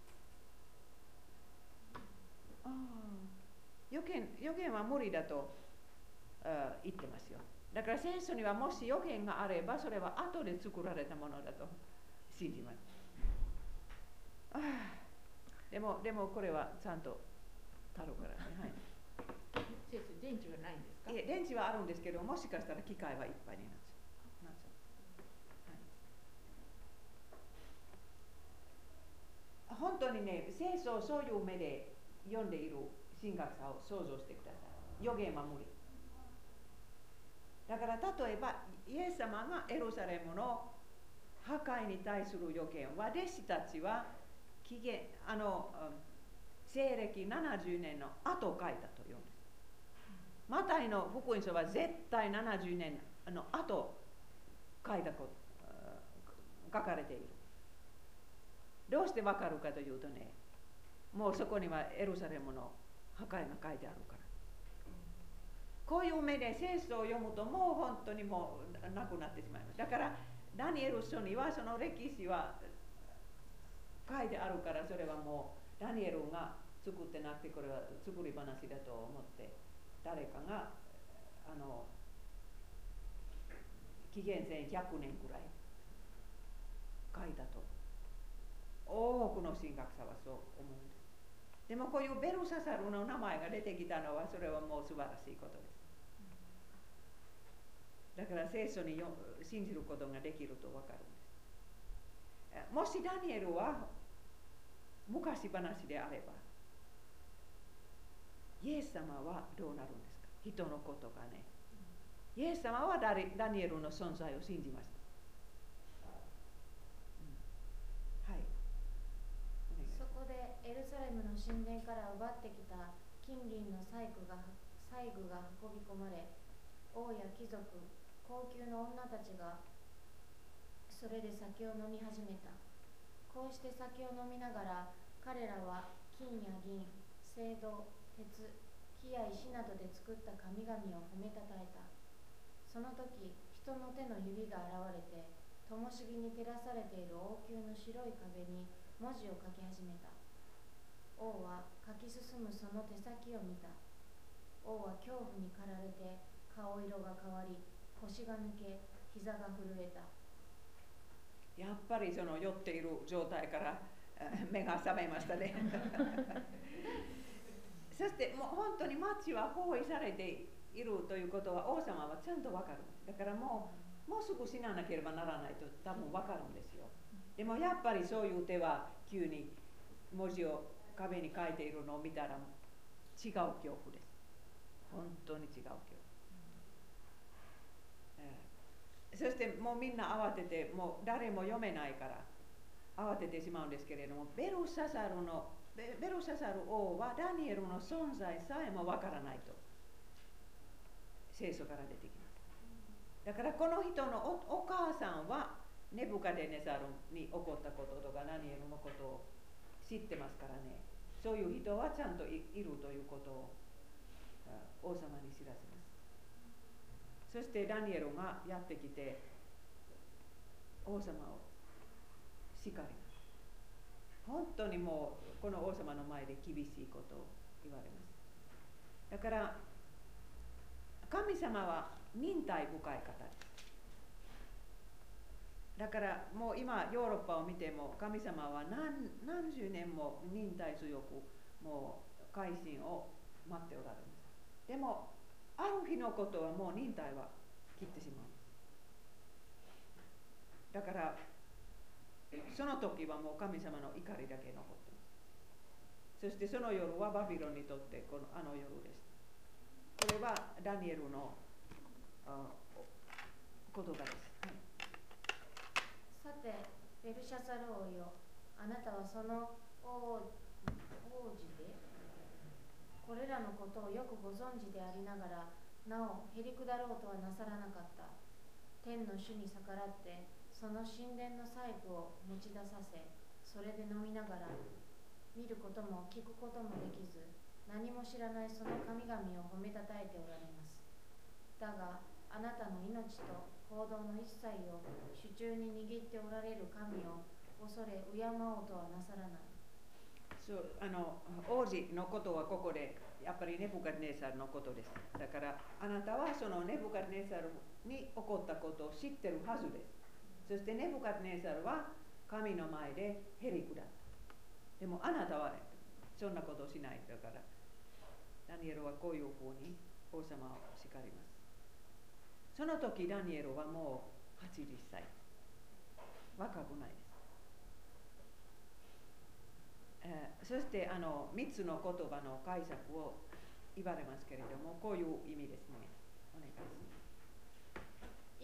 あ予言予言は無理だと、uh, 言ってますよ。だから聖書にはもし予言があれば、それは後で作られたものだと信じます。あでもでもこれはちゃんとたるからね。はい先生、電池はないんですか？ いえ、電池はあるんですけど、もしかしたら機械はいっぱいになっちゃう。なっちゃう。はい、本当にね、聖書をそういう目で読んでいる神学者を想像してください。予言は無理。だから例えば、イエス様がエルサレムの破壊に対する予言は、弟子たちは紀元あの西暦ななじゅうねんの後書いたというんです。マタイの福音書は絶対ななじゅうねんの後書いたこと書かれている。どうしてわかるかというとね、もうそこにはエルサレムの破壊が書いてあるから。こういう目で聖書を読むともう本当にもうなくなってしまいます。だからダニエル書にはその歴史は書いてあるから、それはもうダニエルが作ってなくて、これは作り話だと思って誰かがあの紀元前ひゃくねんくらい書いたと多くの神学者はそう思うんです。でもこういうベルササルの名前が出てきたのは、それはもう素晴らしいことです。だから聖書によ信じることができると分かるんです。もしダニエルは昔話であれば、イエス様はどうなるんですか？人のことがね。イエス様はダニエルの存在を信じました。うん、はい。 そこでエルサレムの神殿から奪ってきた金銀の細工が細具が運び込まれ、 王や貴族、高級の女たちがそれで酒を飲み始めた。こうして酒を飲みながら、彼らは金や銀、青銅、鉄、木や石などで作った神々を褒めたたえた。その時、人の手の指が現れて、灯火に照らされている王宮の白い壁に文字を書き始めた。王は書き進むその手先を見た。王は恐怖に駆られて顔色が変わり、腰が抜け、膝が震えた。 やっぱりその酔っている状態から目が覚めましたね。そしてもう本当に町は包囲されているということは王様はちゃんと分かる。だからもう、もうすぐ死ななければならないと多分分かるんですよ。でもやっぱりそういう手は急に文字を壁に書いているのを見たら違う恐怖です。本当に違う恐怖。そしてもうみんな慌てて、もう誰も読めないから慌ててしまうんですけれども、ベルシャザルのベルシャザル王はダニエルの存在さえもわからないと聖書から出てきます。だからこの人の お, お母さんはネブカデネザルに起こったこととかダニエルのことを知ってますからね。そういう人はちゃんと い, いるということを王様に知らせます。そしてダニエルがやってきて王様を叱ります。本当にもうこの王様の前で厳しいことを言われます。だから神様は忍耐深い方です。だからもう今ヨーロッパを見ても神様は 何, 何十年も忍耐強くもう改心を待っておられます。でもある日のことはもう忍耐は切ってしまうんです。だからその時はもう神様の怒りだけ残ってます。そしてその夜はバビロンにとってこのあの夜です。これはダニエルの言葉です。はい、 さて、ベルシャザル王よ、あなたはその王王子でこれらのことをよくご存知でありながら、なおへりくだろうとはなさらなかった。天の主に逆らってその神殿の細工を持ち出させ、それで飲みながら見ることも聞くこともできず、何も知らないその神々を褒めたたえておられます。だがあなたの命と行動の一切を手中に握っておられる神を恐れ敬おうとはなさらない。 そうあの王子のことはここでやっぱりネブカデネザルのことです。だからあなたはそのネブカデネザルに起こったことを知ってるはずです。そしてネブカデネザルは神の前でへりくだった。でもあなたはそんなことをしない。だからダニエルはこういうふうに王様を叱ります。その時ダニエルはもうはちじゅっさい。若くないです。えー、そしてあのみっつの言葉の解釈を言われますけれども、こういう意味ですね。お願いします。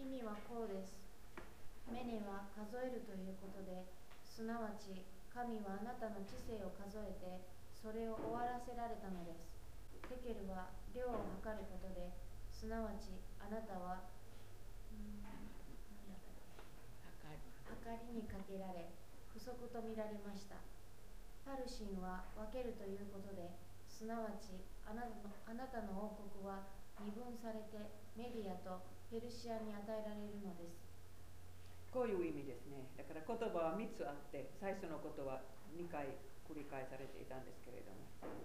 意味はこうです。メネは数えるということで、すなわち神はあなたの知性を数えてそれを終わらせられたのです。テケルは量を測ることで、すなわちあなたはん何だったっけ、測りにかけられ不足と見られました。パルシンは分けるということで、すなわちあなたの、あなたの王国は二分されてメディアとペルシアに与えられるのです。 こういう意味ですね。だから言葉はみっつあって、最初のことはにかい繰り返されていたんですけれども、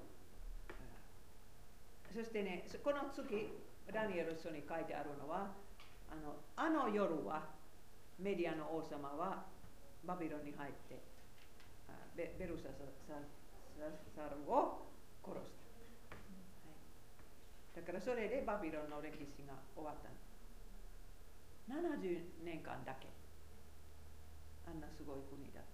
そしてね、この次ダニエル書に書いてあるのは、あの、あの夜はメディアの王様はバビロンに入ってベ, ベルシャザルを殺した、はい、だからそれでバビロンの歴史が終わった。ななじゅうねんかんだけあんなすごい国だ、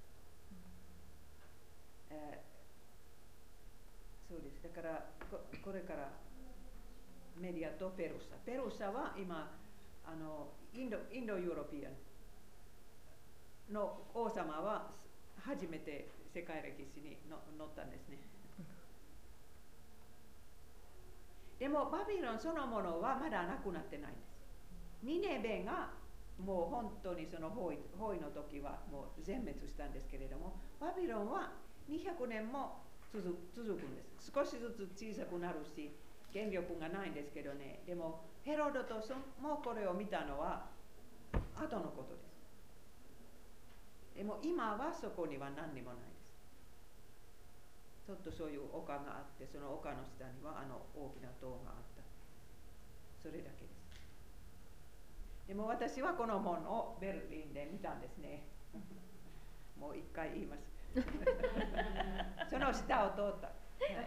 うんえー、そうです。だからこ, これからメディアとペルシャペルシャは今あのインドインドユーロピアンの王様は初めて世界歴史にの載ったんですね。 でもバビロンそのものはまだなくなってないんです。ニネベがもう本当にその包囲、包囲の時はもう全滅したんですけれども、バビロンはにひゃくねんも続続くんです。少しずつ小さくなるし、権力がないんですけどね。でもヘロドトスもこれを見たのは後のことです。でも今はそこには何にもないです。ちょっとそういう丘があって、その丘の下にはあの大きな塔があった。それだけです。でも私はこの本をベルリンで見たんですね。もう一回言います。その下を通った。はい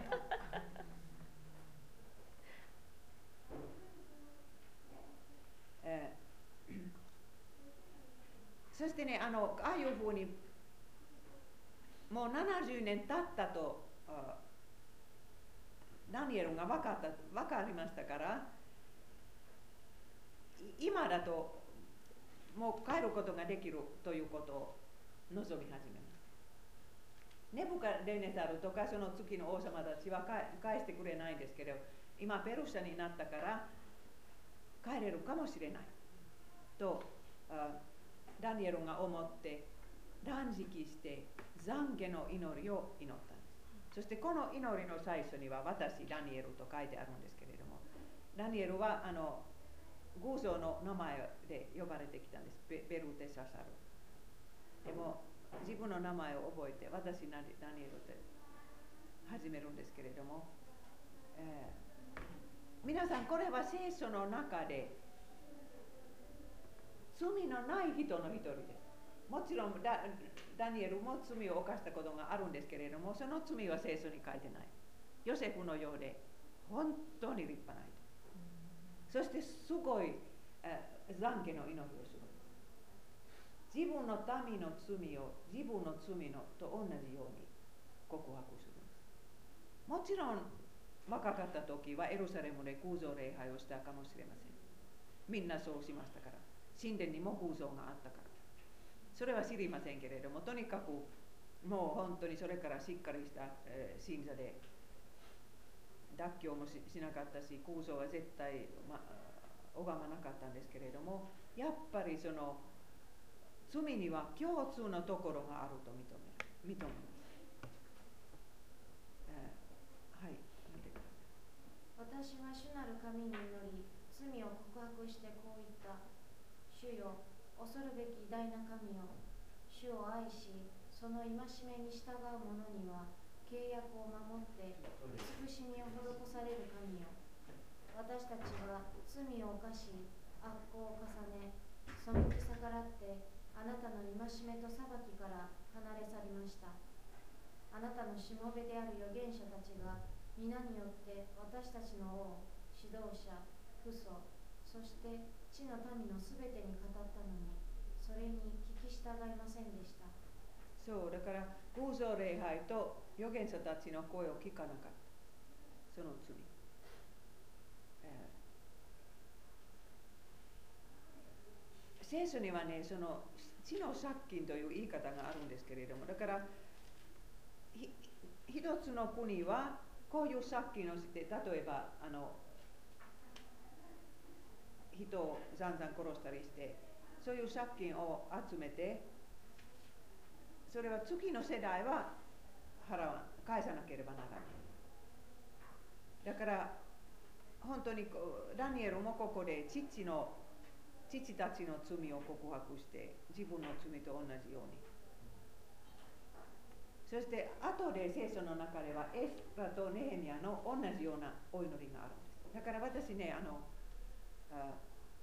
えー、そしてね、あのああいうふうにもうななじゅうねん経ったとダニエルが分かった分かりましたから、今だともう帰ることができるということを望み始めます。ネブカデネザルとかその月の王様たちは返してくれないんですけど、今ペルシャになったから帰れるかもしれないとダニエルが思って断食して懺悔の祈りを祈ったんです。そしてこの祈りの最初には私ダニエルと書いてあるんですけれども、ダニエルはあの偶像の名前で呼ばれてきたんです。ベルテササル。でも自分の名前を覚えて私ダニエルで始めるんですけれども、えー、皆さんこれは聖書の中で罪のない人の一人です。もちろん ダ, ダニエルも罪を犯したことがあるんですけれども、その罪は聖書に書いてない。ヨセフのようで本当に立派な人。そしてすごい懺悔の祈りをするんです。自分の民の罪を自分の罪のと同じように告白するんです。もちろん若かった時はエルサレムで偶像礼拝をしたかもしれません。みんなそうしましたから、神殿にも偶像があったから、それは知りませんけれども、とにかくもう本当にそれからしっかりした、えー、信者で脱臼も し, しなかったし、空想は絶対、ま、拝まなかったんですけれども、やっぱりその罪には共通のところがあると認める認めます、えー、はい見てください。 私は主なる神に祈り、罪を告白してこう言った。主よ、恐るべき偉大な神よ、主を愛しその戒めに従う者には契約を守って慈しみを施される神よ。私たちは罪を犯し悪行を重ね、背き逆らってあなたの戒めと裁きから離れ去りました。あなたのしもべである預言者たちが皆によって私たちの王、指導者、父祖、そして地の民のすべてに語ったのに、それに聞き従いませんでした。 そうだから偶像礼拝と預言者たちの声を聞かなかった。その罪、えー、聖書にはね、その地の借金という言い方があるんですけれども、だからひ一つの国はこういう借金をして、例えばあの人をざんざん殺したりして、そういう借金を集めて、それは次の世代は払わ返さなければならない。だから本当にダニエルもここで父の父たちの罪を告白して自分の罪と同じように。そして後で聖書の中ではエスラとネヘミヤの同じようなお祈りがあるんです。だから私ね、あのあ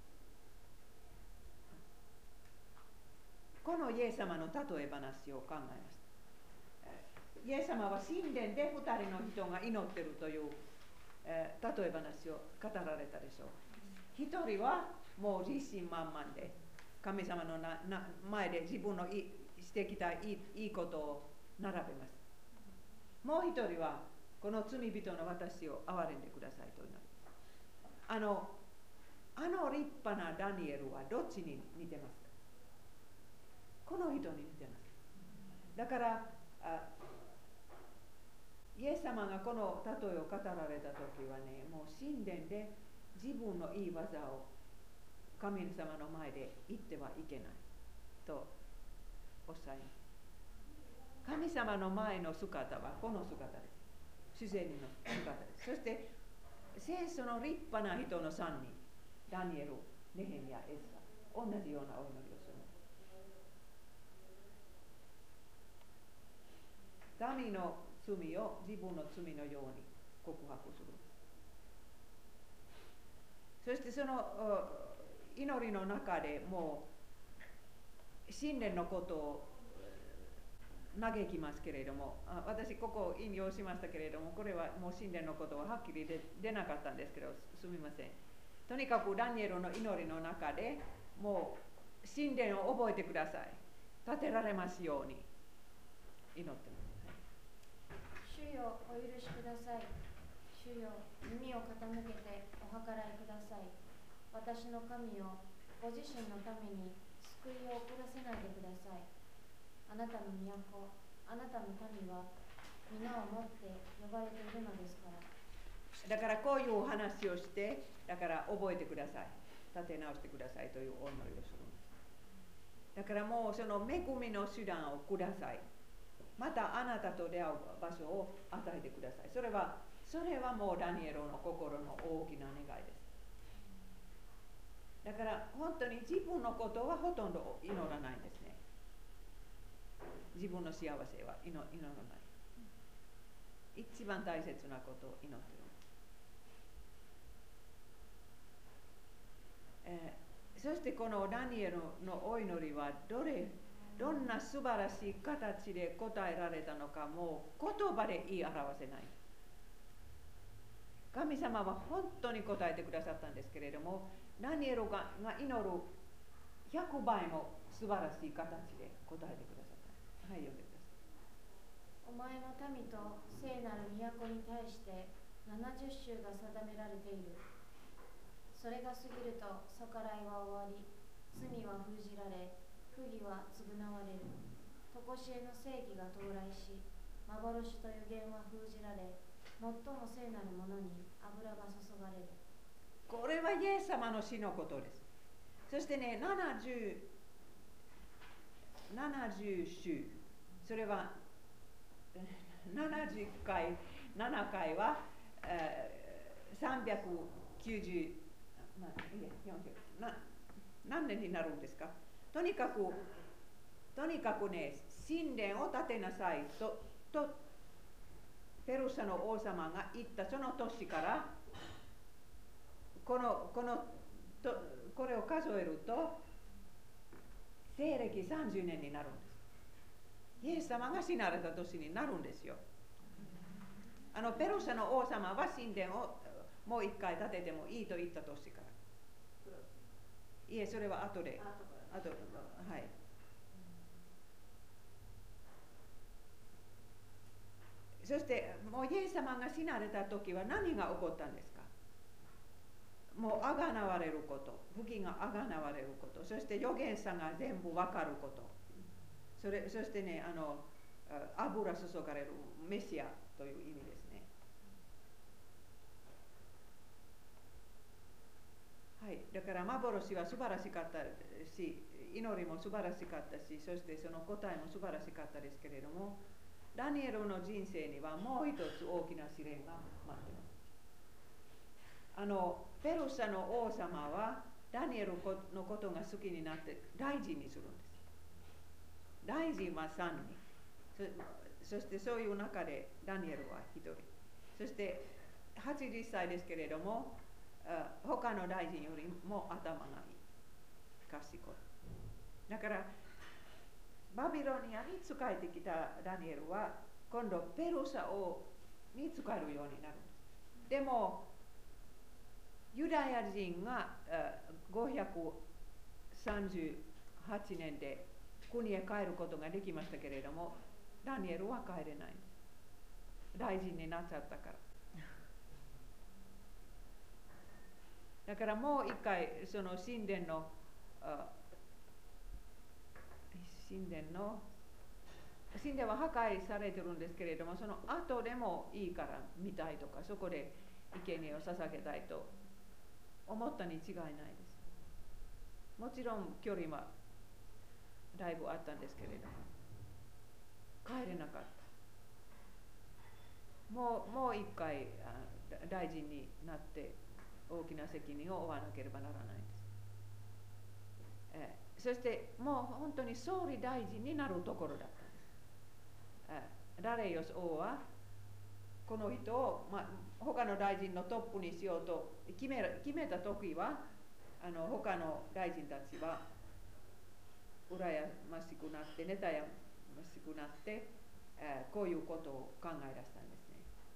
このイエス様の例え話を考えました。イエス様は神殿でふたりの人が祈っているという、えー、例え話を語られたでしょう。一人はもう自信満々で神様のなな前で自分のいしてきたいいいいことを並べます。もう一人はこの罪人の私を憐れんでくださいと祈る。あのあの立派なダニエルはどっちに似てますか？この人に似てます。だからあイエス様がこの例えを語られた時はね、もう神殿で自分のいい技を神様の前で言ってはいけないとおっしゃいます。神様の前の姿はこの姿です。主税人の姿です。そして聖書の立派な人のさんにん、ダニエル、ネヘミヤ、エズラ、同じようなお祈りをするんです。民の罪を自分の罪のように告白するんです。そしてその祈りの中でもう神殿のことを嘆きますけれども、私ここ引用しましたけれども、これはもう神殿のことははっきり出なかったんですけど、すみません。とにかくダニエルの祈りの中でもう神殿を覚えてください、建てられますように祈ってます。 主よ、お許しください。主よ、耳を傾けてお計らいください。私の神よ、ご自身のために救いを遅らせないでください。あなたの都、あなたの民は皆をもって呼ばれているのですから。 だからこういうお話をして、だから覚えてください、立て直してくださいというお祈りをするんです。だからもうその恵みの手段をください。またあなたと出会う場所を与えてください。それはそれはもうダニエルの心の大きな願いです。だから本当に自分のことはほとんど祈らないんですね。自分の幸せは祈らない。一番大切なことを祈っているんです。えー、そしてこのダニエルのお祈りはどれどんな素晴らしい形で答えられたのか、もう言葉で言い表せない。神様は本当に答えてくださったんですけれども、ダニエルが祈るひゃくばいも素晴らしい形で答えてくださった。はい、読んでください。 お前の民と聖なる都に対してななじゅっ州が定められている。それが過ぎると逆らいは終わり、罪は封じられ、不義は償われる。常しえの正義が到来し、幻と予言は封じられ、最も聖なるものに油が注がれる。 これはイエス様の死のことです。そしてね、ななじゅう、ななじゅう州、それはななじゅっかい、ななかいは、えー、さんびゃくきゅうじゅう、まあ、いいや、よんじゅうな、何年になるんですか。とにかく、とにかくね、神殿を建てなさいと、とペルシャの王様が言ったその年から、この、このとこれを数えると、西暦さんじゅうねんになるんです。イエス様が死なれた年になるんですよ。あのペルシャの王様は神殿をもう一回建ててもいいと言った年から。いえ、それは後で。後で、はい。そしてもうイエス様が死なれた時は何が起こったんですか。もうあがなわれること、不義があがなわれること、そして預言者が全部わかること、それそしてね、あの油注がれるメシアという意味ですね。はい、だから幻は素晴らしかったし、祈りも素晴らしかったし、そしてその答えも素晴らしかったですけれども、ダニエルの人生にはもう一つ大きな試練が待っています。あのペルシャの王様はダニエルのことが好きになって大臣にするんです。大臣はさんにん、そ, そしてそういう中でダニエルはひとり、そしてはちじゅっさいですけれども、他の大臣よりも頭がいい、賢い。だからバビロニアに仕えてきたダニエルは今度ペルシャ王に仕えるようになるんです。でもユダヤ人がごひゃくさんじゅうはちねんで国へ帰ることができましたけれども、ダニエルは帰れないんです。大臣になっちゃったから。だからもう一回その神殿の神殿の神殿は破壊されてるんですけれども、その後でもいいから見たいとか、そこで生贄を捧げたいと思ったに違いないです。もちろん距離はだいぶあったんですけれども、帰れなかった。もう、もう一回大臣になって大きな責任を負わなければならないんです。えー、そしてもう本当に総理大臣になるところだったんです。えー、ダレイオス王はこの人を、まあ、他の大臣のトップにしようと決め、決めた時はあの他の大臣たちは羨ましくなって妬ましくなって、えー、こういうことを考え出したんですね。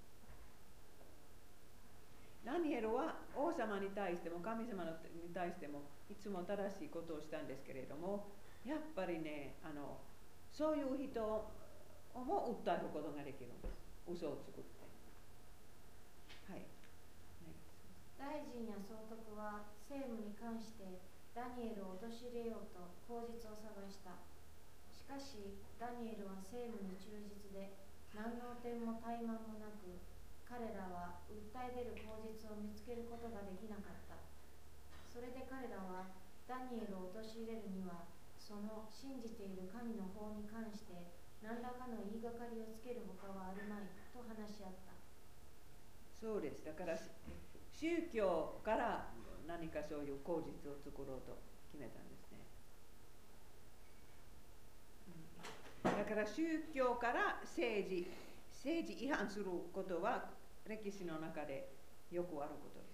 ダニエルは王様に対しても神様に対してもいつも正しいことをしたんですけれども、やっぱりね、あのそういう人をも訴えることができるんです。嘘を作って。はい。 大臣や総督は政務に関してダニエルを陥れようと口実を探した。しかしダニエルは政務に忠実で何の点も怠慢もなく、彼らは訴え出る口実を見つけることができなかった。それで彼らはダニエルを陥れるにはその信じている神の法に関して何らかの言いがかりをつけるほかはあるまいと話し合った。 そうです。だから宗教から何かそういう口実を作ろうと決めたんですね。だから宗教から政治政治違反することは歴史の中でよくあることです。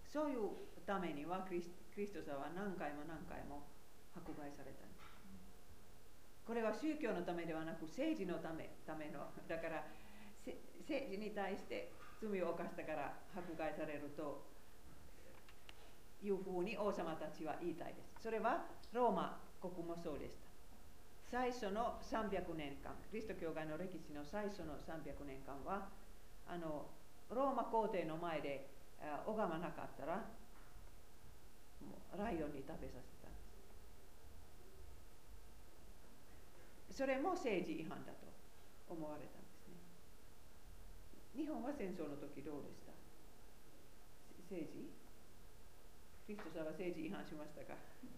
そういうためにはクリス、クリストさんは何回も何回も迫害されたんです。これは宗教のためではなく政治のため、ためのだから政治に対して罪を犯したから迫害されるというふうに王様たちは言いたいです。それはローマ国もそうでした。最初のさんびゃくねんかん、キリスト教会の歴史の最初のさんびゃくねんかんはあのローマ皇帝の前で拝まなかったらもうライオンに食べさせたんです。それも政治違反だと思われたんですね。日本は戦争の時どうでした？政治？クリストさんは政治違反しましたか？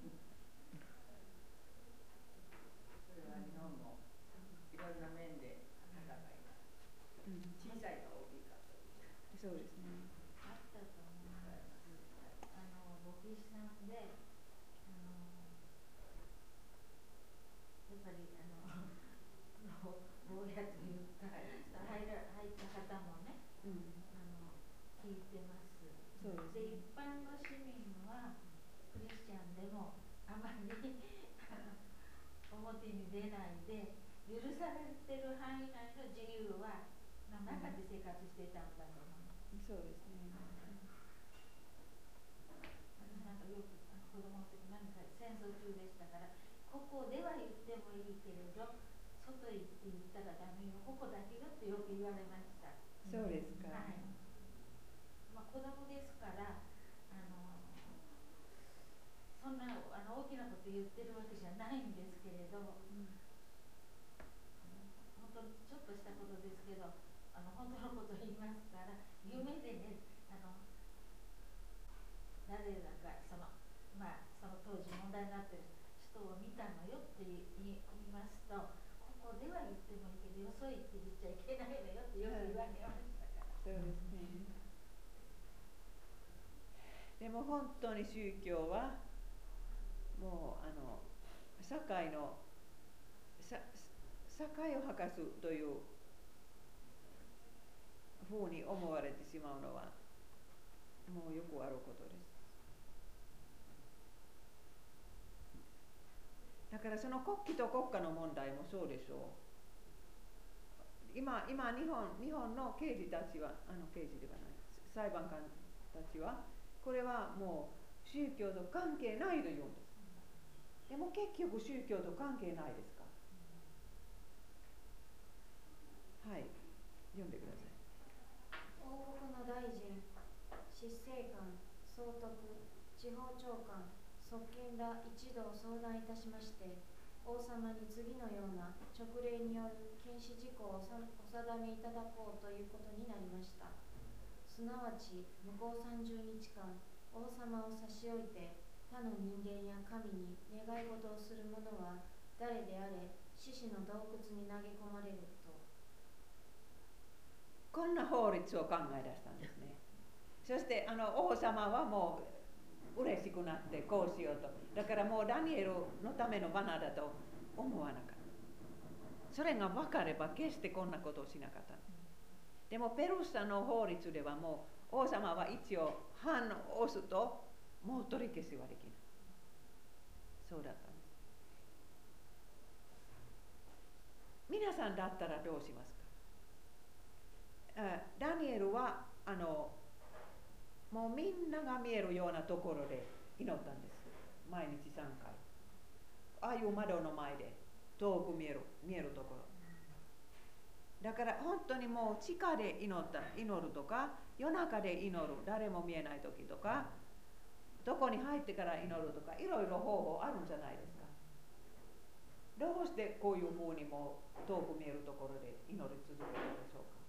それは日本もいろんな面で戦いが、うん、小さいが大きいかという。 そうですね。 あったと思います。あの牧師さんで、あのやっぱりあの坊やというか入ら入った方もね、うん、あの聞いてます。そうですね。で一般の市民はクリスチャンでもあまり表に出ないで許されてる範囲内の自由はの中で生活していたんだと思います。 うん、そうですね。 なんかよく子供の時なんか戦争中でしたから、ここでは言ってもいいけれど外行って言ったらダメよ、ここだけよってよく言われました。 そうですか。 はい。まあ子供ですから、あのそんなあの大きなこと言ってるわけじゃないんですけれど、うん、本当ちょっとしたことですけど、あの本当のことを言いますから、夢でね、あの誰だかそのまあその当時問題になってる人を見たのよって言いますと、ここでは言ってもいいけどよそ行って言っちゃいけないのよってよく言われましたから。 そうですね。でも本当に宗教はもうあの社会の社会を破壊するというふうに思われてしまうのはもうよくあることです。だからその国旗と国家の問題もそうでしょう。今、今日本、日本の刑事たちは、あの刑事ではない、裁判官たちは、これはもう宗教と関係ないと言うんです。でも結局宗教と関係ないですか？はい、読んでください。 王国の大臣、執政官、総督、地方長官、側近ら一同相談いたしまして、王様に次のような勅令による禁止事項をお定めいただこうということになりました。 すなわち向こうさんじゅうにちかん王様を差し置いて他の人間や神に願い事をする者は誰であれ獅子の洞窟に投げ込まれると。 こんな法律を考え出したんですね。そしてあの王様はもう嬉しくなってこうしようと。だからもうダニエルのための罠だと思わなかった。それが分かれば決してこんなことをしなかった。でもペルシャの法律ではもう王様は一応判を押すともう取り消しはできない。そうだったんです。皆さんだったらどうしますか？ダニエルはあのもうみんなが見えるようなところで祈ったんです。毎日さんかい。ああいう窓の前で遠く見える見えるところ。だから本当にもう地下で祈った祈るとか、夜中で祈る、誰も見えない時とか、どこに入ってから祈るとか、いろいろ方法あるんじゃないですか。どうしてこういうふうにも遠く見えるところで祈り続けるでしょうか。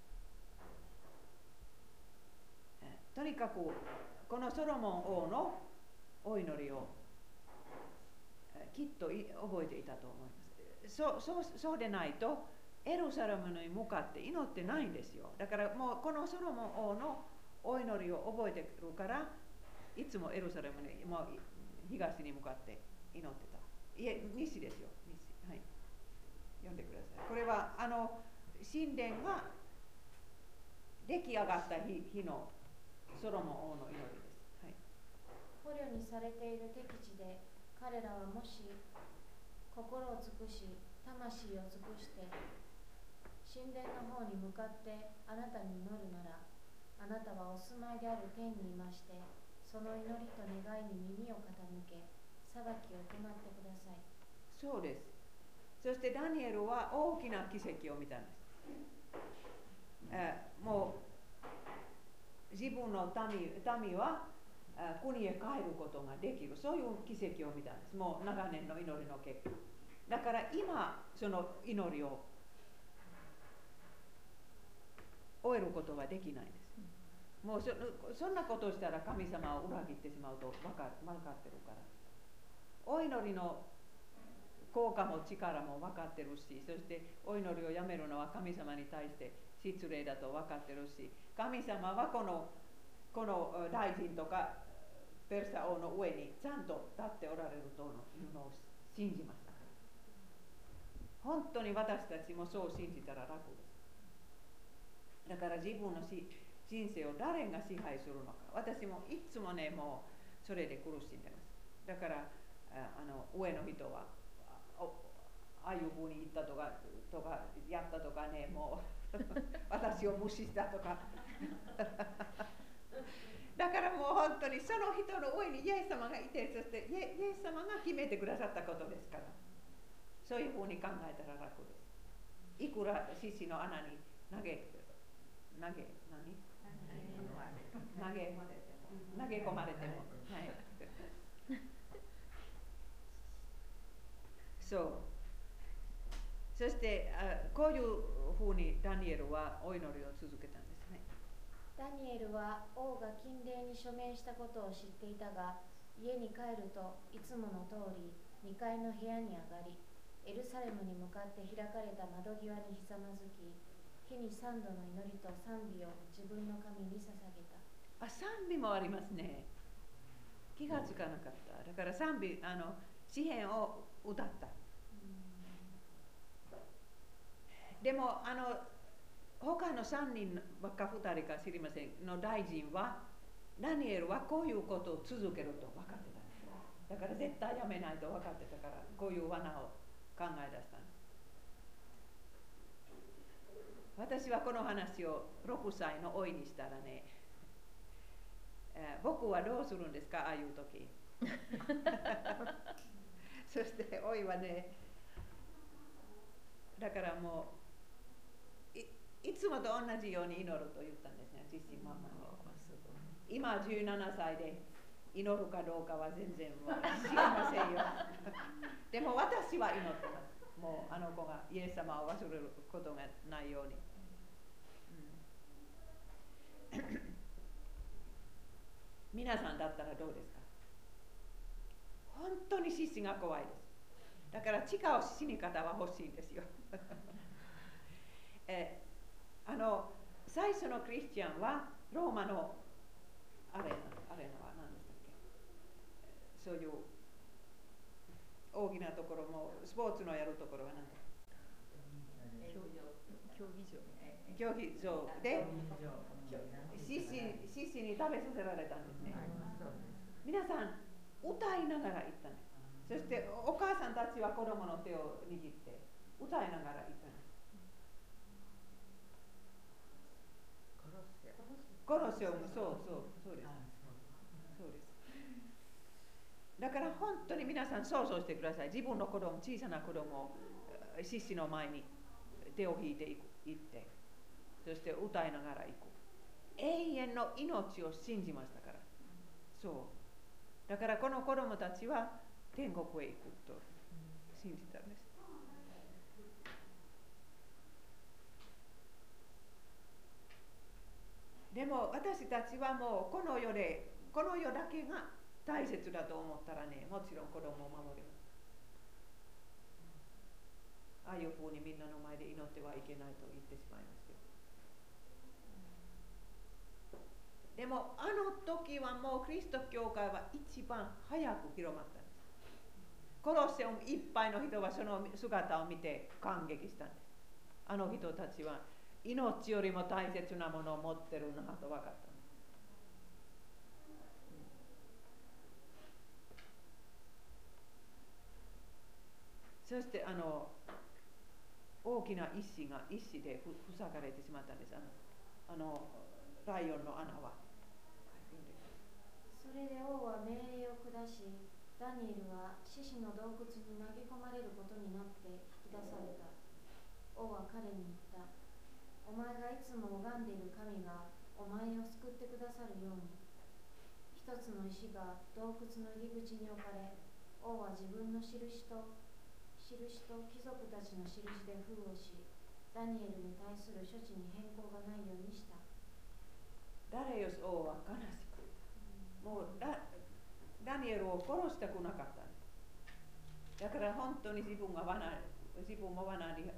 とにかくこのソロモン王のお祈りをきっと覚えていたと思います。そ う, そう, そうでないとエルサレムに向かって祈ってないんですよ。だからもうこのソロモン王のお祈りを覚えてるからいつもエルサレムにもう東に向かって祈ってた。いえ、西ですよ。西、はい、読んでください。これはあの神殿が出来上がった 日, 日のソロモン王の祈りです。はい、 捕虜にされている敵地で彼らはもし心を尽くし魂を尽くして神殿の方に向かってあなたに祈るなら、あなたはお住まいである天にいましてその祈りと願いに耳を傾け裁きを行ってください。 そうです。そしてダニエルは大きな奇跡を見たんです。えもう自分の 民, 民は国へ帰ることができる、そういう奇跡を見たんです。もう長年の祈りの結果。だから今その祈りを終えることはできないんです。もう そ, そんなことをしたら神様を裏切ってしまうと分か, 分かってるから。お祈りの効果も力も分かってるし、そしてお祈りをやめるのは神様に対して失礼だと分かってるし、神様はこのこの大臣とかペルシャ王の上にちゃんと立っておられるというのを信じました。本当に私たちもそう信じたら楽です。だから自分のし人生を誰が支配するのか。私もいつもね、もうそれで苦しんでます。だからあの上の人はああいうふうに言ったとかとかやったとかね、もう私を無視したとかだからもう本当にその人の上にイエス様がいて、そしてイエス様が決めてくださったことですから、そういうふうに考えたら楽です。いくら獅子の穴に投げ投げ何投げ投げ込まれても、はい、そう。そしてあこういうふうにダニエルはお祈りを続けたんですね。 ダニエルは王が禁令に署名したことを知っていたが、家に帰るといつもの通りにかいの部屋に上がり、エルサレムに向かって開かれた窓際にひざまずき、日に三度の祈りと賛美を自分の神に捧げた。 あ、賛美もありますね。気がつかなかった。だから賛美、あの詩篇を歌った。でもあの他のさんにんかふたりか知りませんの大臣は、ダニエルはこういうことを続けると分かってたんです。だから絶対やめないと分かってたから、こういう罠を考え出したんです。私はこの話をろくさいの老いにしたらね、えー、僕はどうするんですか、ああいう時そして老いはね、だからもういつもと同じように祈ると言ったんですね、自身ママに。今じゅうななさいで祈るかどうかは全然知りませんよでも私は祈ってます。もうあの子がイエス様を忘れることがないように、うん、 皆さんだったらどうですか？本当に獅子が怖いです。だから違う死に方は欲しいんですよ。えあの最初のクリスチャンはローマのアレーナ、アレーナは何でしたっけ？そういう大きなところもスポーツのやるところは何だ？ 競技場。 競技場で獅子獅子に食べさせられたんですね。皆さん歌いながら行ったんです。そしてお母さんたちは子供の手を握って歌いながら行ったんです。コロセオム、そうそうそうです。そうです。だから本当に皆さん想像してください。自分の子供、小さな子供を獅子の前に手を引いていく行って、そして歌いながら行く。永遠の命を信じましたから。そう。だからこの子供たちは天国へ行くと信じたんです。でも私たちはもうこの世でこの世だけが大切だと思ったらね、もちろん子供を守ります。ああいうふうにみんなの前で祈ってはいけないと言ってしまいますよ。でもあの時はもうキリスト教会は一番早く広まったんです。コロッセオムいっぱいの人はその姿を見て感激したんです。あの人たちは命よりも大切なものを持ってるなと分かったんです。そしてあの大きな石が石で塞がれてしまったんです。あの、あのライオンの穴は。 それで王は命令を下し、ダニエルは獅子の洞窟に投げ込まれることになって引き出された。王は彼に言った。お前がいつも拝んでいる神がお前を救ってくださるように。一つの石が洞窟の入り口に置かれ、王は自分の印と印と貴族たちの印で封をし、ダニエルに対する処置に変更がないようにした。 ダレイオス王は悲しく、もうダダニエルを殺したくなかったんです。だから本当に自分が罠、自分も罠に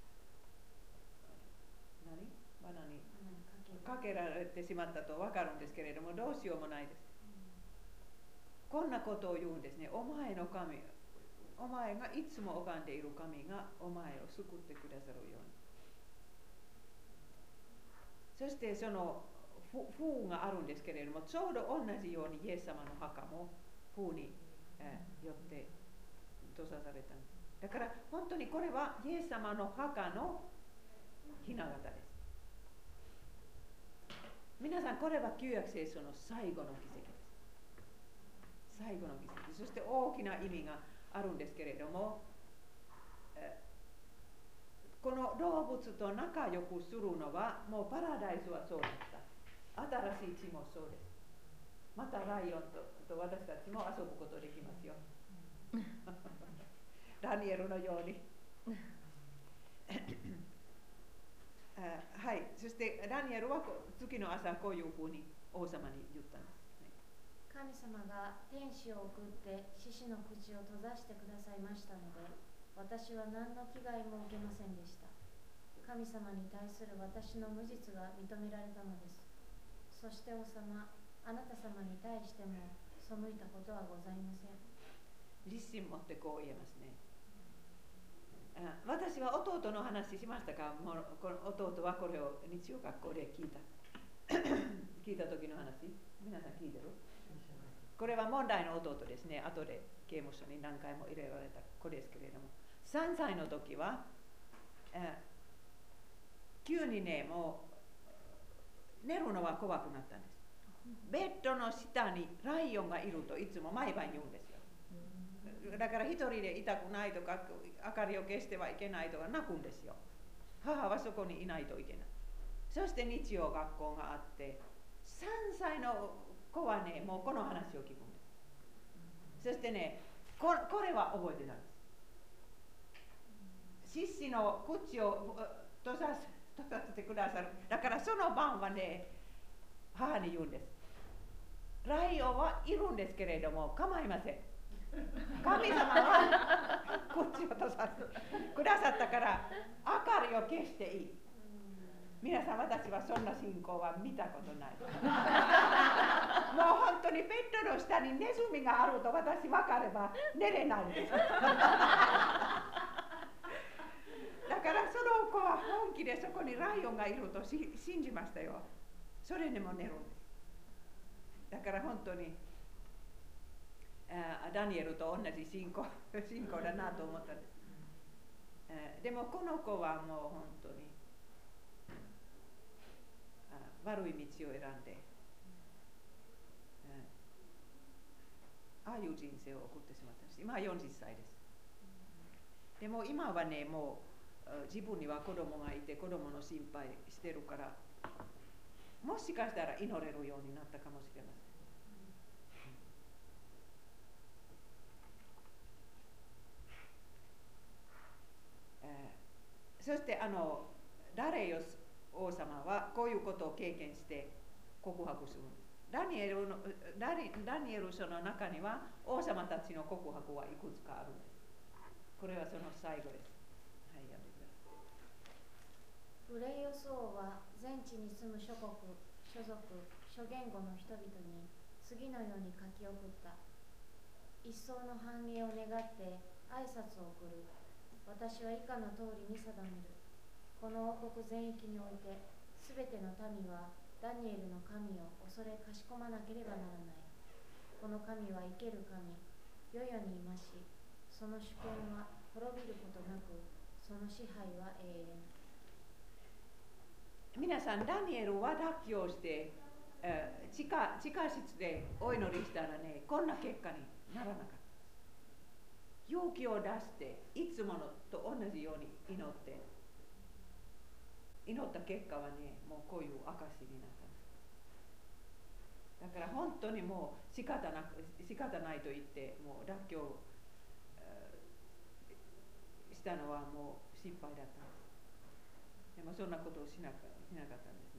何罠にかけられてしまったと分かるんですけれども、どうしようもないです。こんなことを言うんですね。お前の神、お前がいつも拝んでいる神がお前を救ってくださるように。そしてその風があるんですけれども、ちょうど同じようにイエス様の墓も風に、えー、よって閉ざされたんです。だから本当にこれはイエス様の墓の雛形です。皆さんこれは旧約聖書の最後の奇跡です。最後の奇跡。そして大きな意味があるんですけれども、えー、この動物と仲良くするのはもうパラダイスはそうだった。新しい地もそうです。またライオン と, と私たちも遊ぶことできますよ。ダニエルのように。あ、はい。そしてダニエルは次の朝こういうふうに王様に言ったんです。 神様が天使を送って獅子の口を閉ざしてくださいましたので、私は何の危害も受けませんでした。神様に対する私の無実が認められたのです。そして王様、あなた様に対しても背いたことはございません。 自信持ってこう言えますね。あ、私は弟の話しましたか？もうこの弟はこれを日曜学校で聞いた聞いた時の話、皆さん聞いてる？これは問題の弟ですね。後で刑務所に何回も入れられた子ですけれども、さんさいの時はえ急にね、もう寝るのは怖くなったんです。ベッドの下にライオンがいるといつも毎晩言うんですよ。だから一人でいたくないとか、明かりを消してはいけないとか泣くんですよ。母はそこにいないといけない。そして日曜学校があって、さんさいの子はね、もうこの話を聞くんです。そしてね、こ, これは覚えてたんです。獅子の口を閉ざす閉ざしてくださる。だからその晩はね、母に言うんです。 ライオンはいるんですけれども構いません。神様はこっちをとさせてくださったから明かりを消していい。皆さん、私はそんな信仰は見たことない。もう本当にベッドの下にネズミがあると私分かれば寝れないんです。だからその子は本気でそこにライオンがいるとし信じましたよ。それでも寝るんです。だから本当にあダニエルと同じ信仰信仰だなと思ったんです。でもこの子はもう本当に悪い道を選んで、ああいう人生を送ってしまったんです。今はよんじゅっさいです。でも今はね、もう自分には子供がいて子供の心配してるから、もしかしたら祈れるようになったかもしれません。えー、そしてあのダレイオス王様はこういうことを経験して告白するんです。ダニエルのダニダニエル書の中には王様たちの告白はいくつかあるんです。これはその最後です。はい、読んでください。 ブレイオス王は全地に住む諸国、諸族、諸言語の人々に次のように書き送った。一層の繁栄を願って挨拶を送る。私は以下の通りに定める。この王国全域において、すべての民はダニエルの神を恐れかしこまなければならない。この神は生ける神、世々にいまし、その主権は滅びることなく、その支配は永遠。 皆さん、ダニエルは脱臼して、えー、地下、地下室でお祈りしたらね、こんな結果にならなかった。勇気を出して、いつものと同じように祈って、祈った結果はね、もうこういう証になったんです。だから本当にもう仕方なく仕方ないと言ってもう脱臼したのはもう失敗だったんです。でもそんなことをしなか、しなかったんです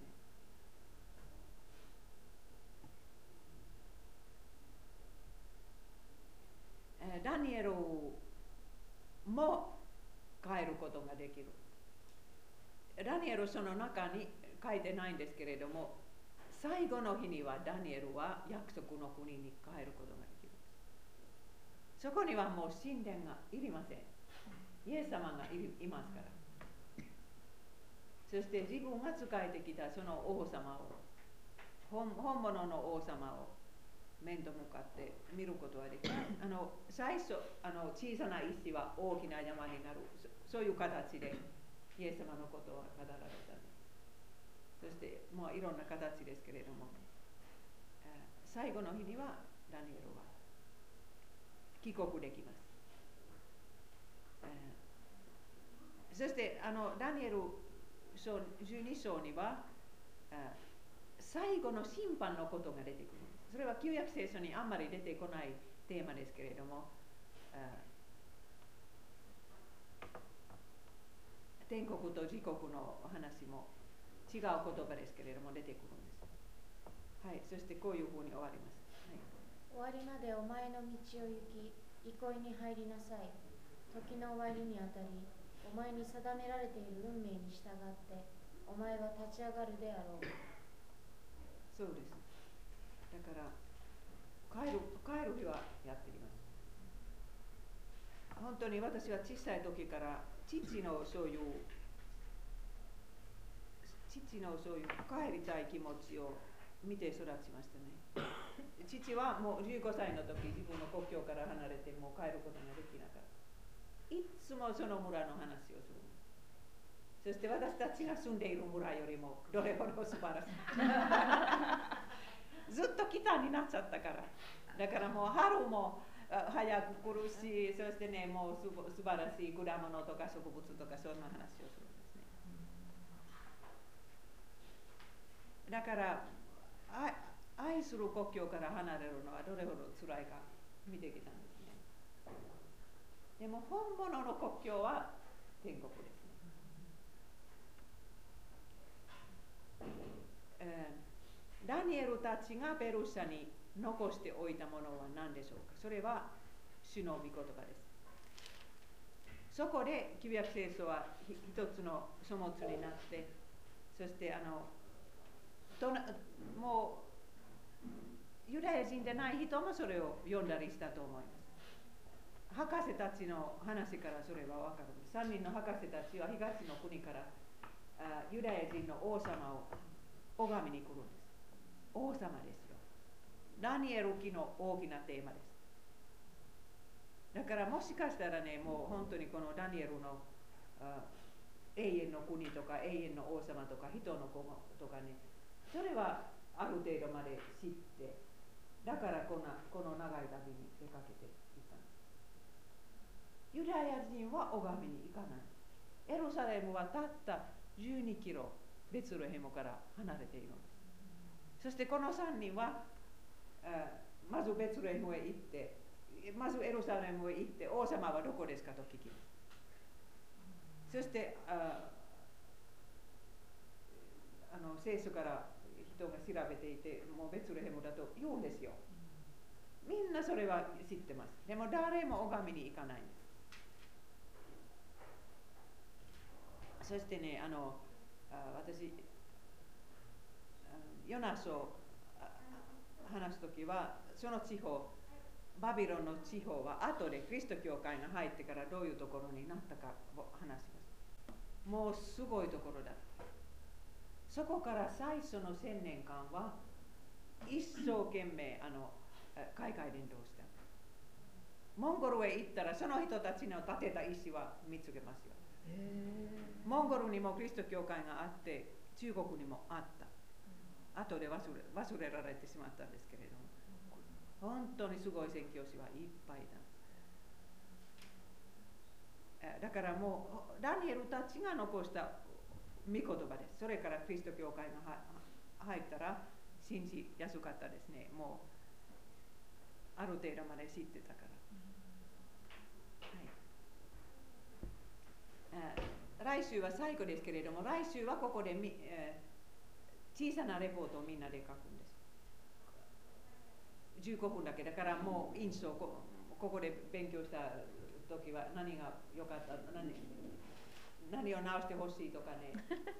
ね。ダニエルも変えることができる。ダニエル書の中に書いてないんですけれども、最後の日にはダニエルは約束の国に帰ることができる。そこにはもう神殿がいりません。イエス様が い, いますから。そして自分が仕えてきたその王様を、本, 本物の王様を面と向かって見ることはできます。あの最初あの小さな石は大きな山になる、そ, そういう形でイエス様のことは語られたんです。そしてもういろんな形ですけれども、最後の日にはダニエルは帰国できます。そしてあのダニエル書じゅうに章には最後の審判のことが出てくる。それは旧約聖書にあんまり出てこないテーマですけれども、天国と地獄の話も違う言葉ですけれども出てくるんです。はい、そしてこういうふうに終わります。 はい、終わりまでお前の道を行き、憩いに入りなさい。時の終わりにあたり、お前に定められている運命に従って、お前は立ち上がるであろう。 そうです。だから帰る、帰る日はやってきます。本当に私は小さい時から父のそういう父のそういう帰りたい気持ちを見て育ちましたね。父はもうじゅうごさいの時、自分の故郷から離れてもう帰ることができなかった。いつもその村の話をする。そして私たちが住んでいる村よりもどれほど素晴らしい。ずっと北になっちゃったから。だからもう春も早く来るし、そしてね、もうす素晴らしい果物とか植物とかそんな話をするんですね。だから愛する故郷から離れるのはどれほど辛いか見てきたんですね。でも本物の故郷は天国ですね。えー、 ダニエルたちがペルシャに残しておいたものは何でしょうか。それは主の御言葉です。そこで旧約聖書は一つの書物になって、そしてあのとなもうユダヤ人でない人もそれを読んだりしたと思います。博士たちの話からそれはわかるんです。さんにんの博士たちは東の国からあユダヤ人の王様を拝みに来るんです。王様ですよ。ダニエル記の大きなテーマです。だからもしかしたらね、もう本当にこのダニエルのあ永遠の国とか永遠の王様とか人の子とかね、それはある程度まで知って、だからこんなこの長い旅に出かけていったんです。ユダヤ人は拝みに行かない。エルサレムはたったじゅうにキロベツレヘムから離れているんです。そしてこのさんにんはまずベツレヘムへ行って、まずエルサレムへ行って、王様はどこですかと聞きます。そしてああの聖書から人が調べていて、もうベツレヘムだと言うんですよ。みんなそれは知ってます。でも誰も拝みに行かないんです。そしてね、あのあ私ヨナ書を話すときは、その地方バビロンの地方は後でキリスト教会が入ってからどういうところになったかを話します。もうすごいところだった。そこから最初の千年間は一生懸命あの海外伝道した。モンゴルへ行ったらその人たちの建てた石は見つけますよ。モンゴルにもキリスト教会があって、中国にもあった。後で忘れ、忘れられてしまったんですけれども、本当にすごい宣教師はいっぱいだ。だからもうダニエルたちが残した御言葉です。それからキリスト教会が入ったら信じやすかったですね。もうある程度まで知ってたから、はい、来週は最後ですけれども、来週はここでみ、えー小さなレポートをみんなで書くんです。じゅうごふんだけだから、もう印象こここで勉強した時は何が良かった、何、何を直してほしいとかね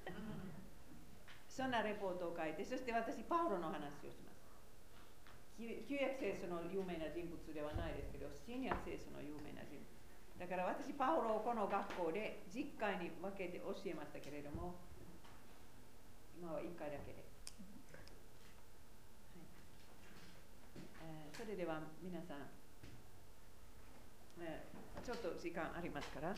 そんなレポートを書いて、そして私パウロの話をします。旧約聖書の有名な人物ではないですけど、新約聖書の有名な人物だから、私パウロをこの学校でじっかいに分けて教えましたけれども、今はいっかいだけで、はいえー、それでは皆さん、えー、ちょっと時間ありますから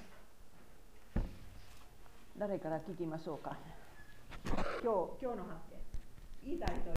誰から聞きましょうか。今日、今日の発見言いたい人